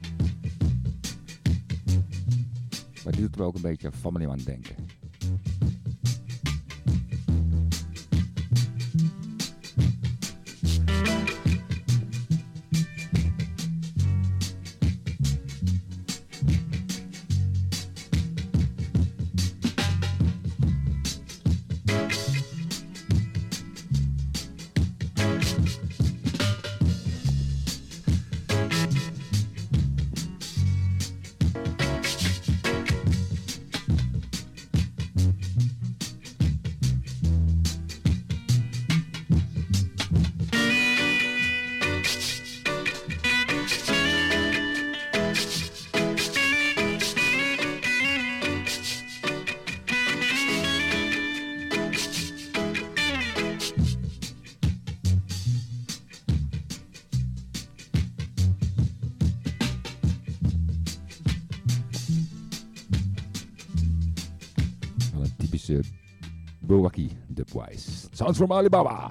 Maar dit doet me ook een beetje van me aan het denken. Milwaukee Dubwise. Sounds from Alibaba.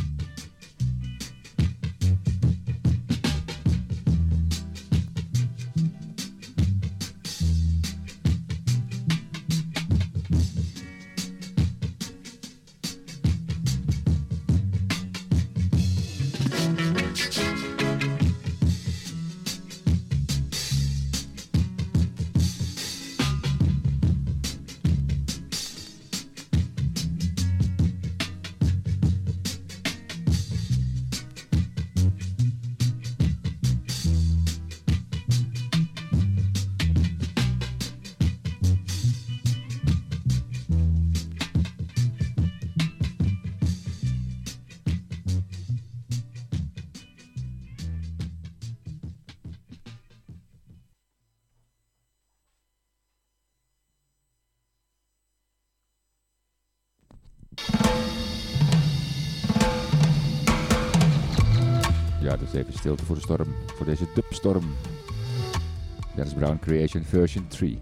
Ja, dus even stilte voor de storm, voor deze dubstorm. Dennis Brown Creation version 3.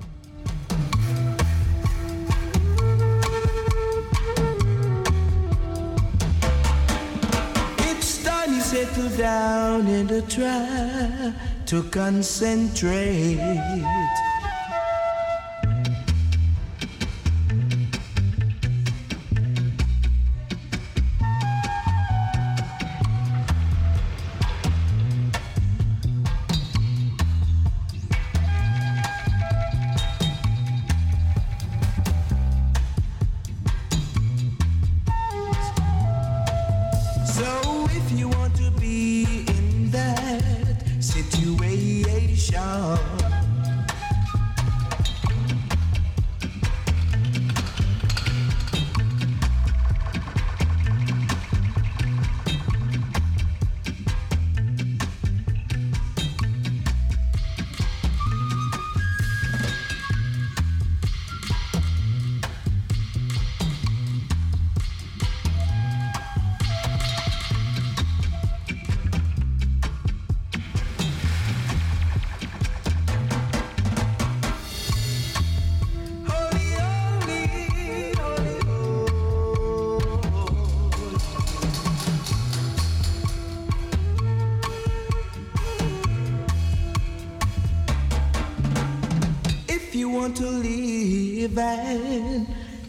It's time you settle down and try to concentrate.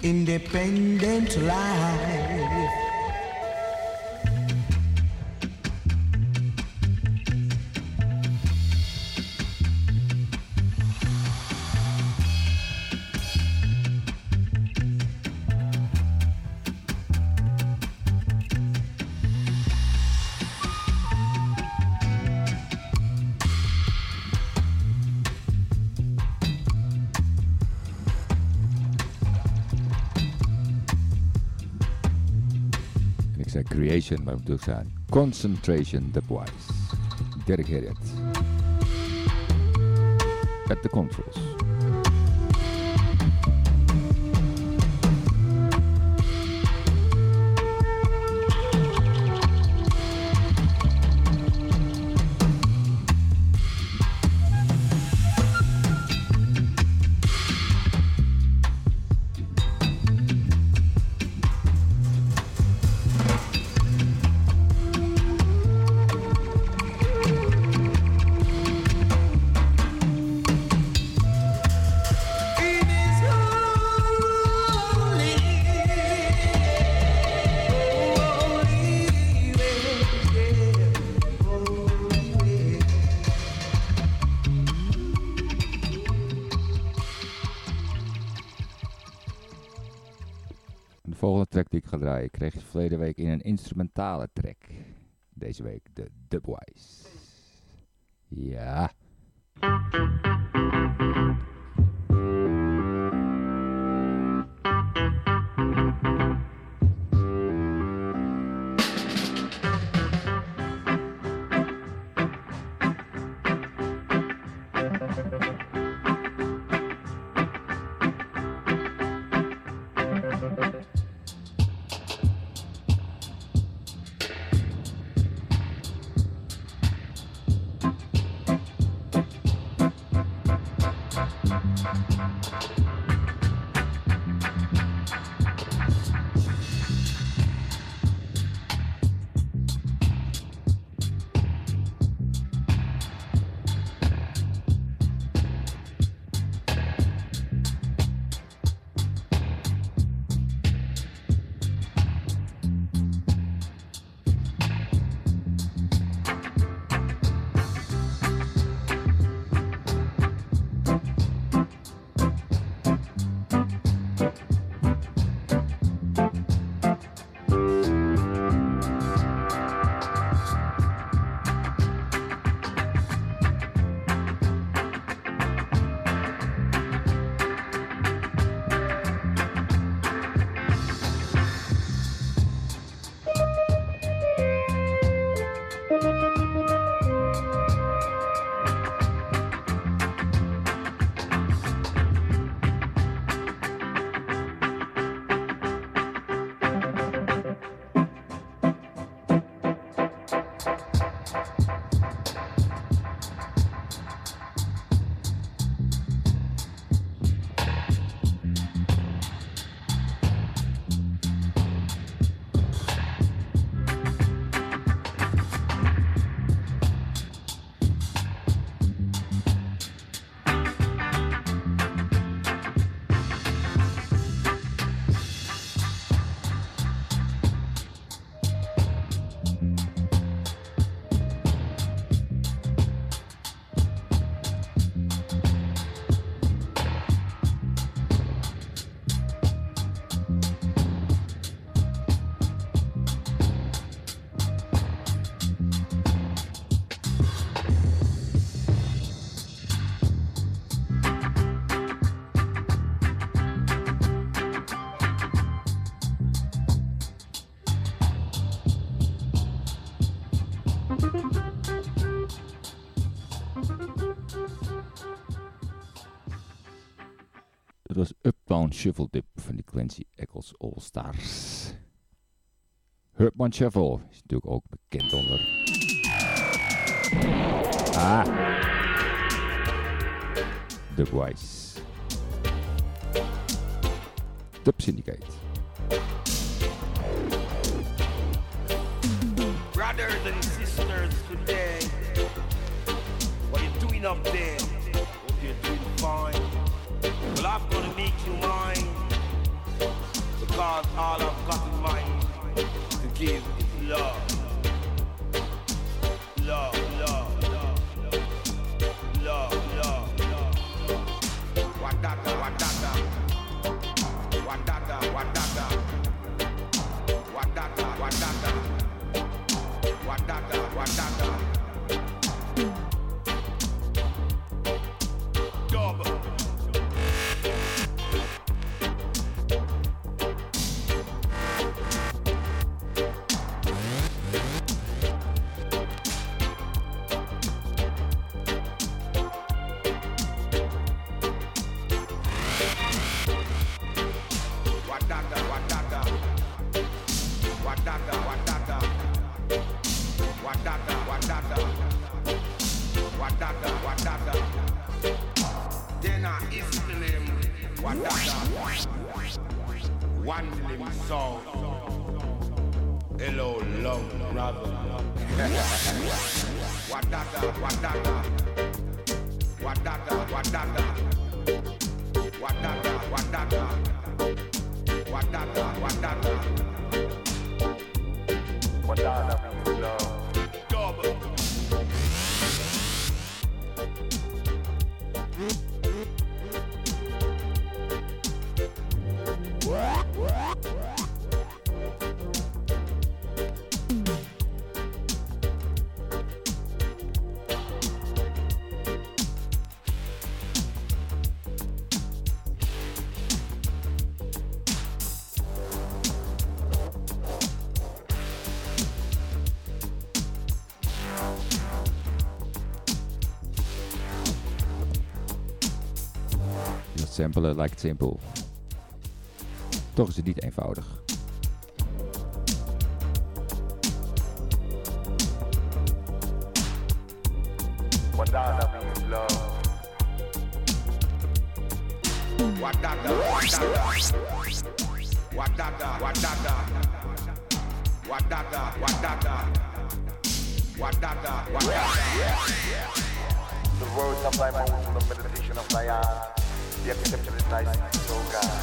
independent life. Creation, maar moet ook zijn Concentration Dubwise. Dedicated at the controls. De volgende track die ik ga draaien kreeg je verleden week in een instrumentale track. Deze week de Dubwise. Ja. Dat was Uptown Shuffle Dip van die Clancy Eccles All Stars. Herb Shuffle is natuurlijk ook bekend onder Dubwise. Dub Syndicate. Brothers and sisters today, what you doing up there? Hope you're doing fine. Well, I'm gonna make you mine. because all I've got in mind to give is love. Love, love, love, love, love, love. Wadada, wadada, wadada, wadada, wadada, wadada, wadada, wadada. Double. One limb soul. Hello, love, brother. Wadada, wadada. Wadada, wadada. Wadada, wadada. Wadada, wadada. Wadada means love. Double. Samplen lijkt simpel. Toch is het niet eenvoudig. Wadada means love. Wadada, wadada. Wadada, wadada. Wadada, wadada. Wadada, wadada. The words of thy mouth and the meditation of thy heart. The acceptance is thy speech, O God.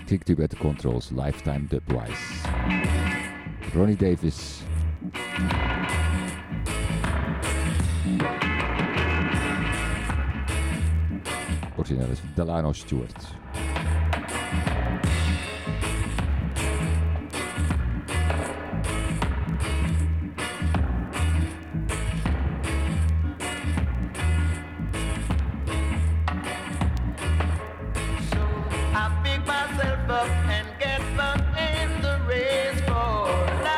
Klinkt u bij de Controls, Lifetime Dubwise. Ronnie Davis. Origineel is Delano Stewart. I pick myself up and get back in the race for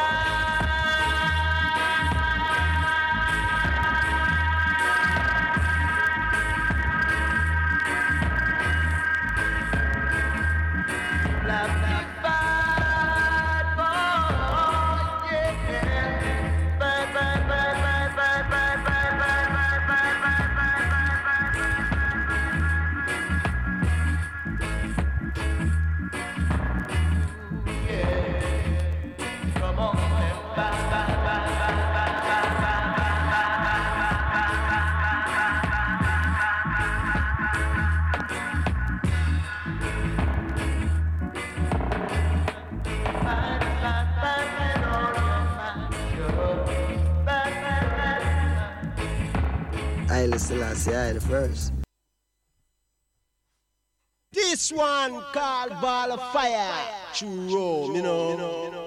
Haile Selassie, I the first. This one called Ball of Fire. True Rome, you know.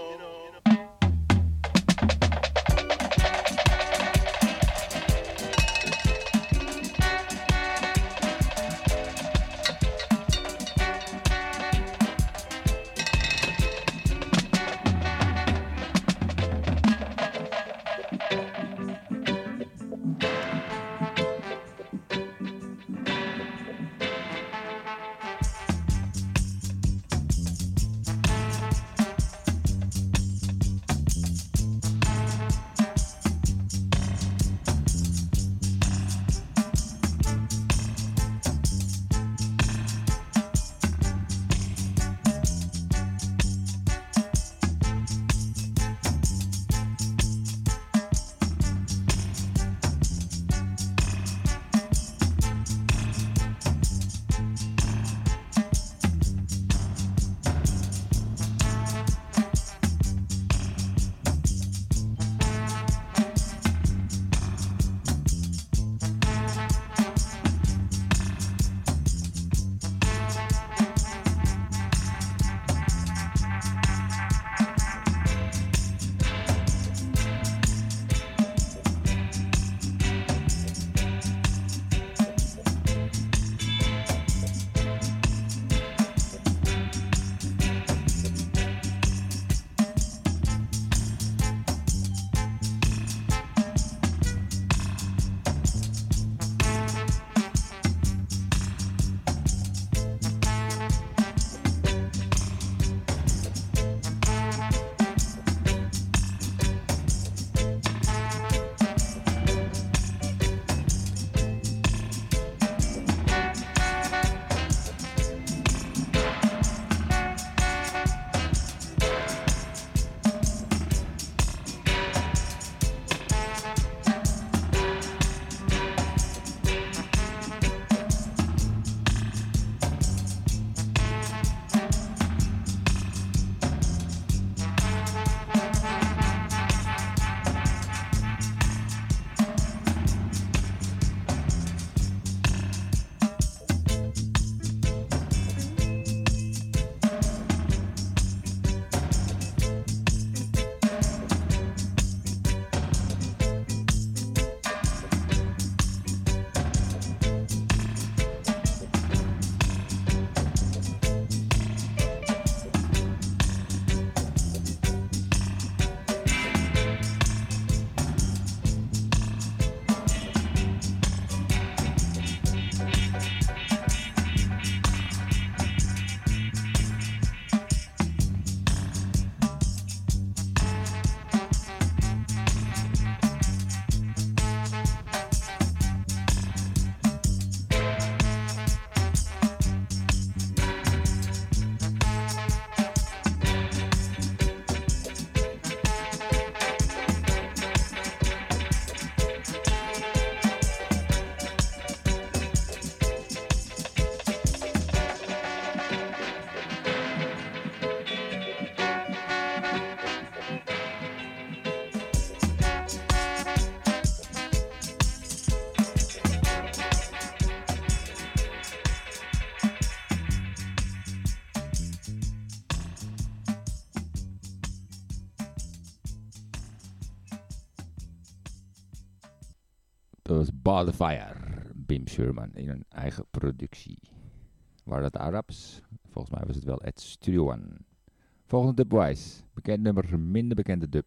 Dat was Ball of Fire, Bim Sherman, in een eigen productie. Waren dat Arabs? Volgens mij was het wel at Studio One. Volgende Dubwise. Bekend nummer, minder bekende dub.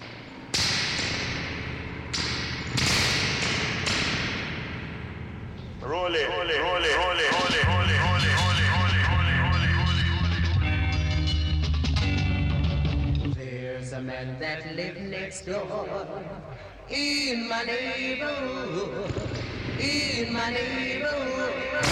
There's a man that lives next door in my neighborhood, in my neighborhood.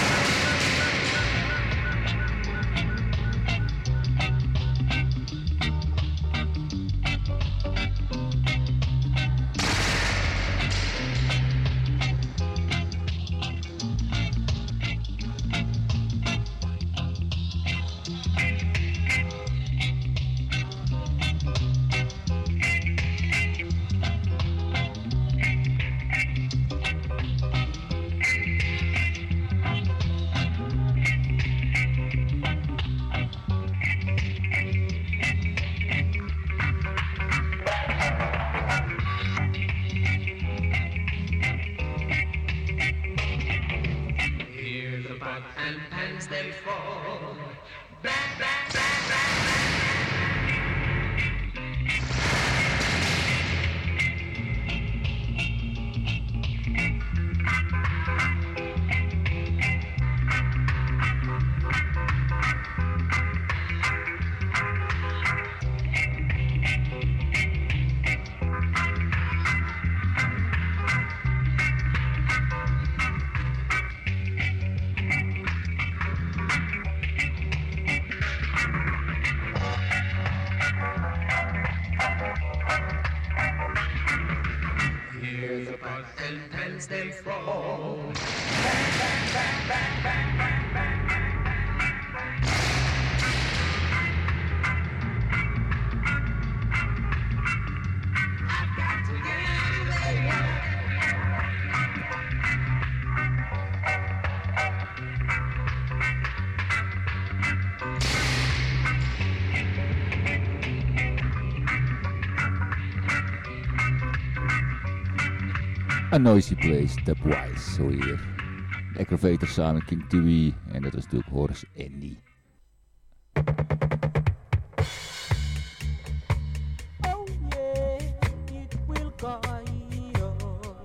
A Noisy Place, Dubwise, zo hier. De Aggravator samen King Tui en dat was natuurlijk Horace Andy. Oh yeah, it will guide us.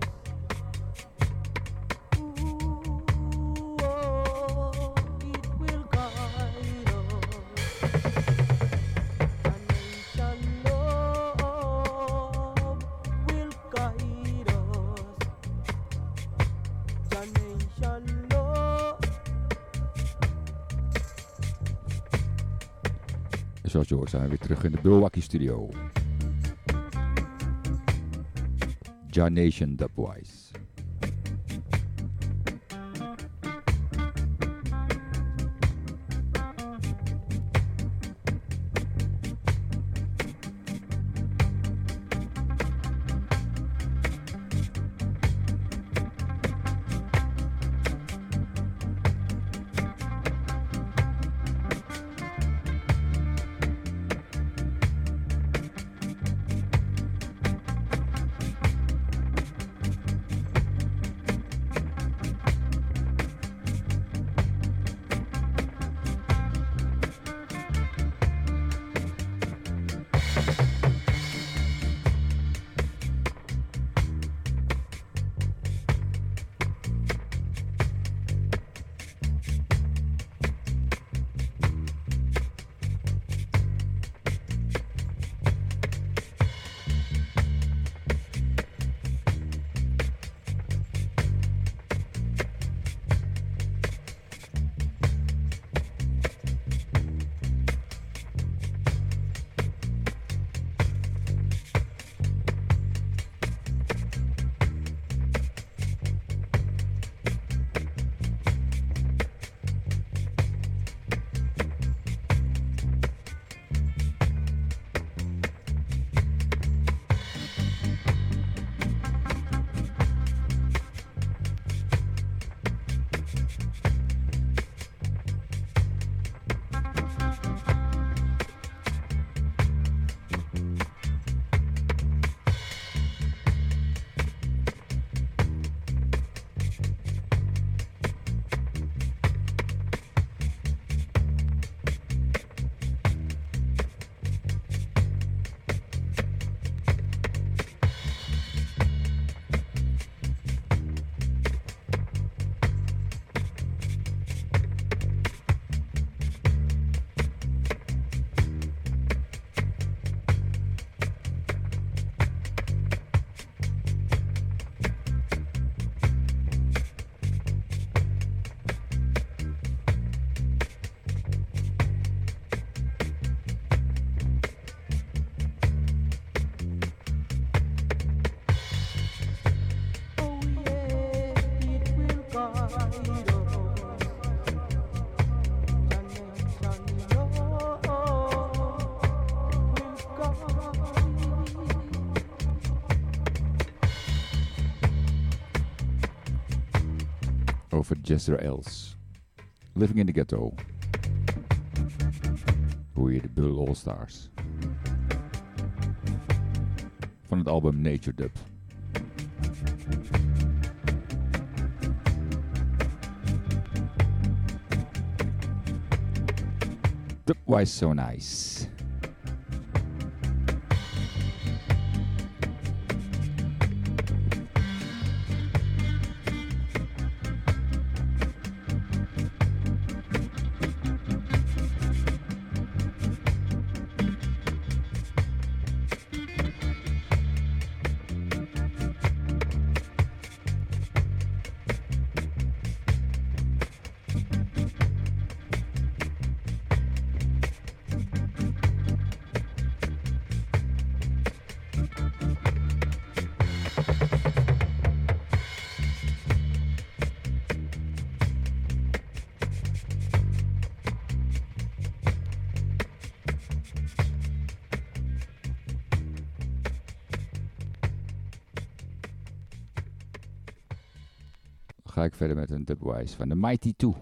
Ooh, oh, it will guide us. A nation love will guide us. A nation love. Zoals je hoort zijn we weer terug in de Milwaukee studio. Ja Nation Dubwise. over Jester Els. Living in the Ghetto. Hoor je de Bull All Stars. Van het album Nature Dub. Dubwise So Nice. Ga ik verder met een dubwise van de Mighty Two.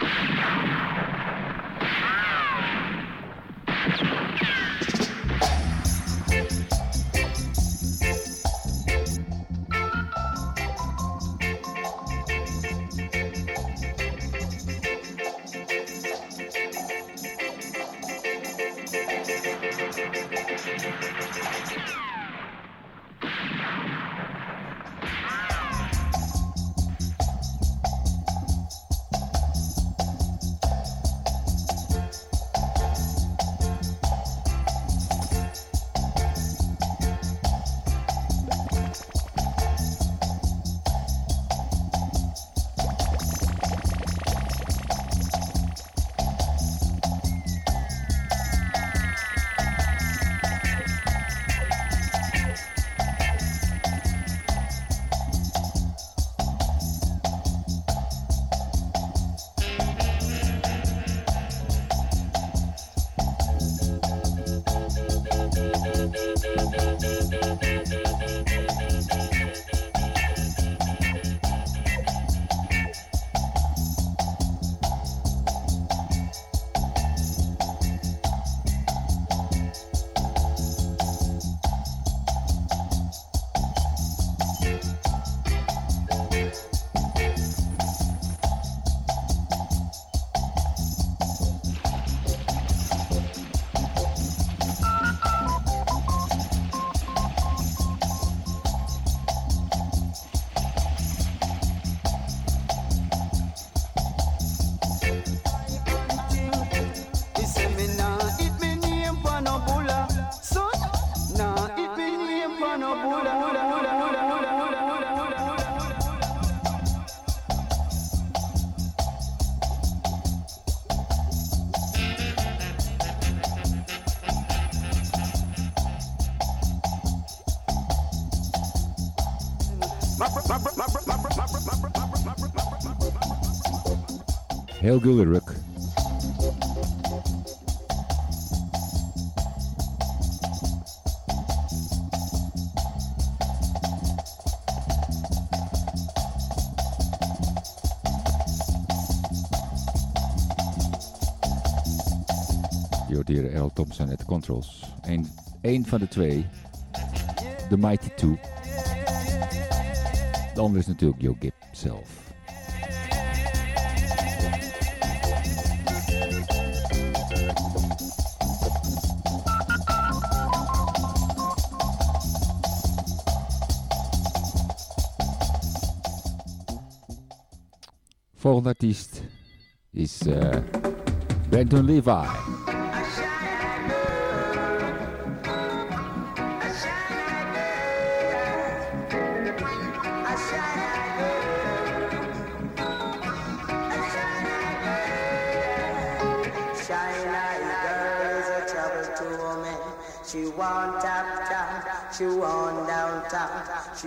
Heel Gulleruk. Je hoort hier Earl Thompson at the controls. Eén van de twee. De Mighty Two. De andere is natuurlijk Joe Gibb zelf. Volgende artiest is Brandon Levi. She want uptown, she want downtown, she.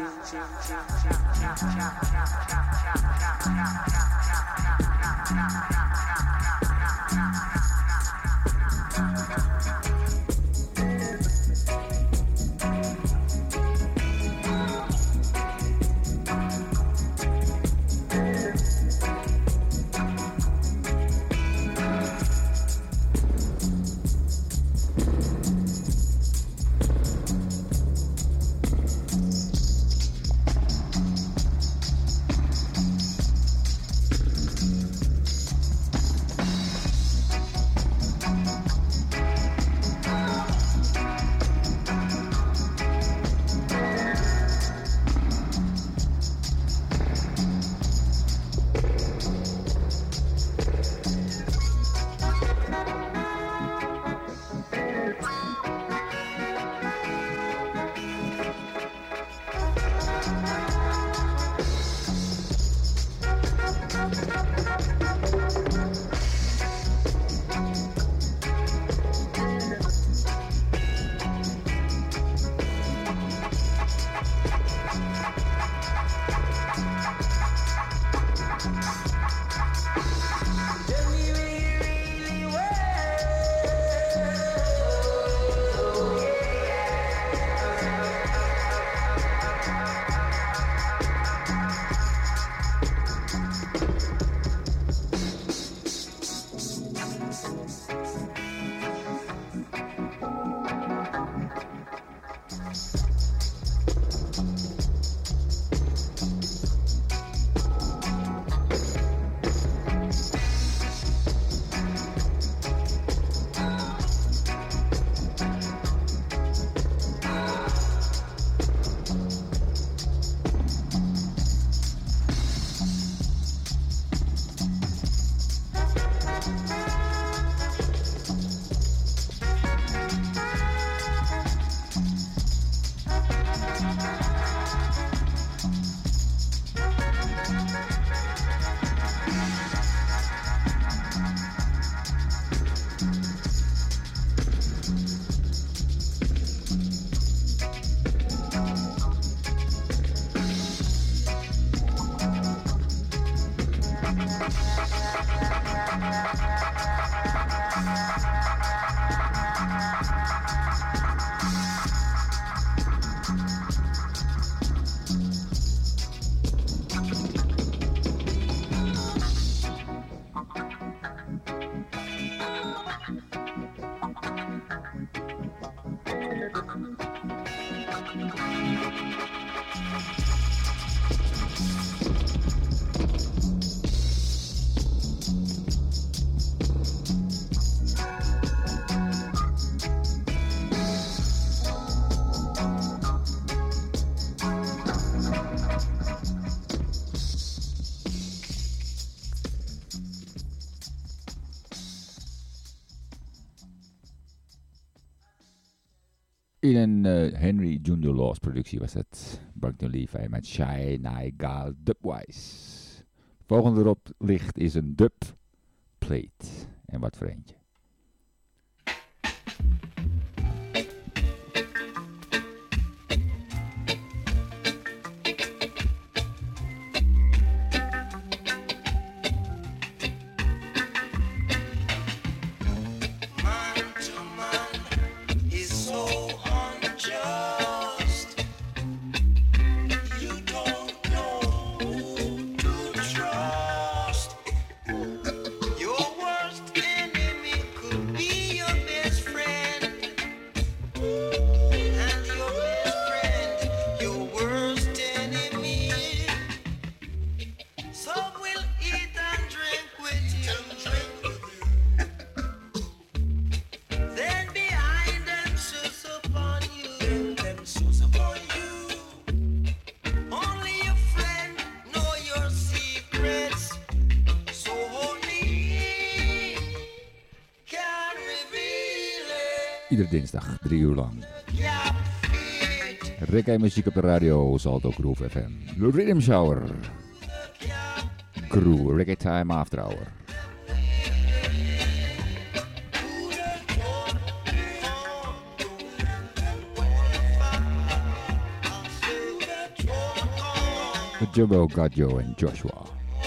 In een Henry Junior Laws productie was het Buckner Levi met Shy Nigal Dubwise. Volgende erop ligt is een dub plate. En wat voor eentje. Iedere dinsdag 3 uur lang. Reggae muziek op de radio, Salto Groove FM. The Rhythm Shower. Groove, Reggae Time After Hour. With Jumbo, Gadjo en Joshua.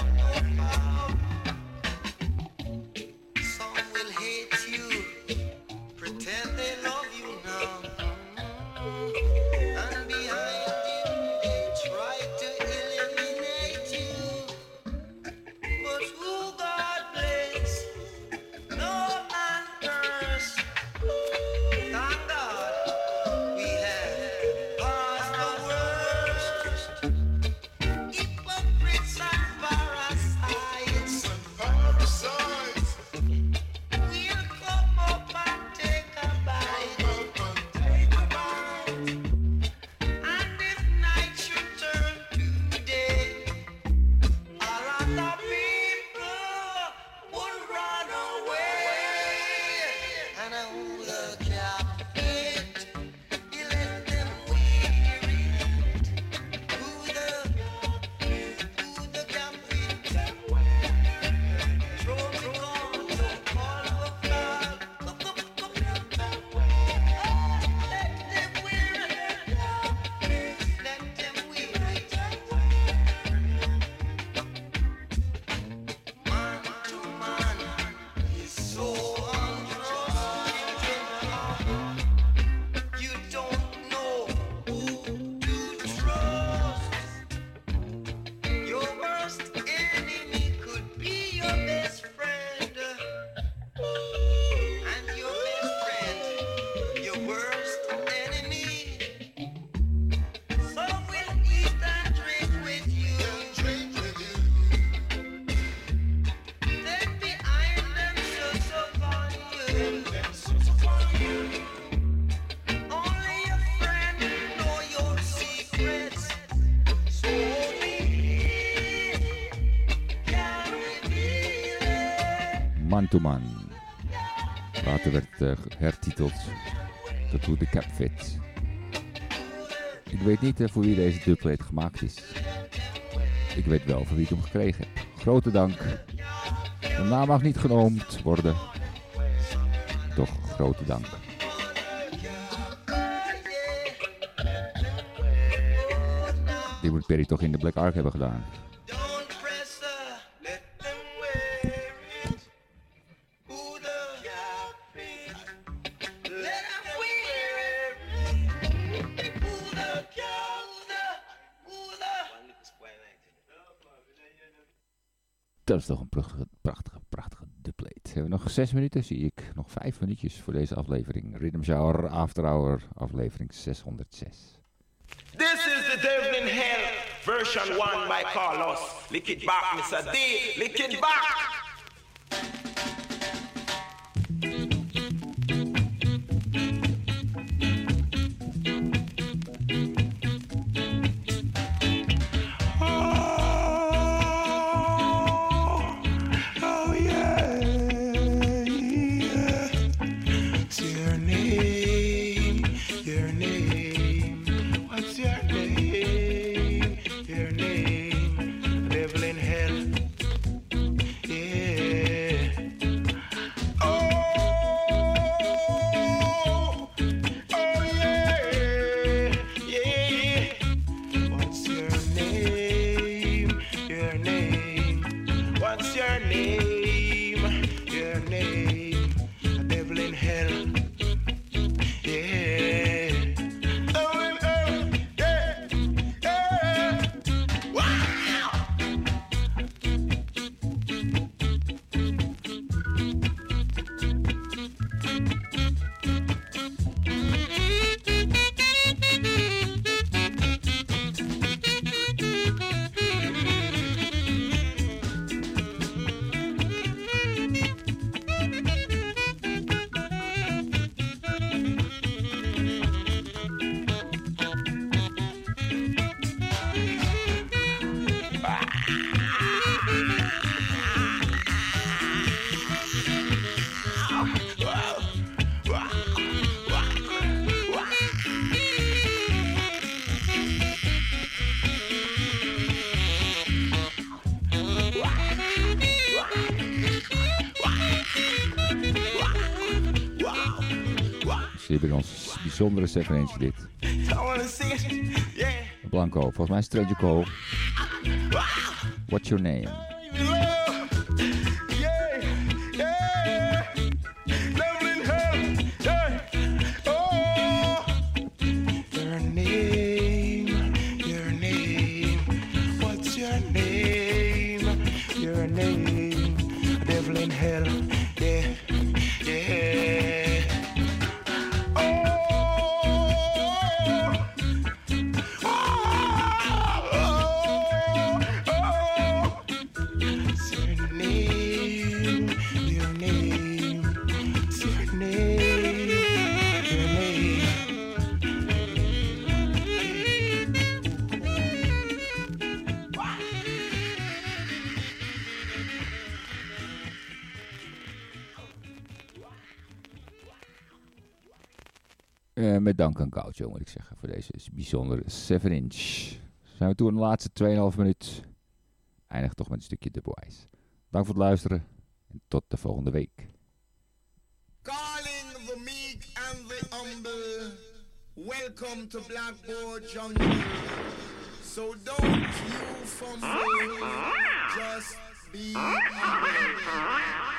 Man to Man. Later werd hertiteld tot hoe de cap fit. Ik weet niet voor wie deze dubplate gemaakt is. Ik weet wel voor wie ik hem gekregen heb. Grote dank. De naam mag niet genoemd worden. Toch grote dank. Die moet Perry toch in de Black Ark hebben gedaan. Dat is toch een prachtige dubplate. We hebben nog 6 minuten, zie ik. Nog 5 minuutjes voor deze aflevering. Rhythm Shower After Hour, aflevering 606. This is the Devil in Hell, version 1 by Carlos. Lick it back, Mr. D, lick it back. Ons bijzondere 7-inch dit. Blanco, volgens mij Stranger Cole. What's your name? Met dank aan Gaucho, moet ik zeggen, voor deze bijzondere 7-inch. Zijn we toe aan de laatste 2,5 minuut. Eindig toch met een stukje Dubwise. Dank voor het luisteren en tot de volgende week. Calling the meek and the humble. Welcome to Blackboard Jungle. So don't you fumble. Just be humble.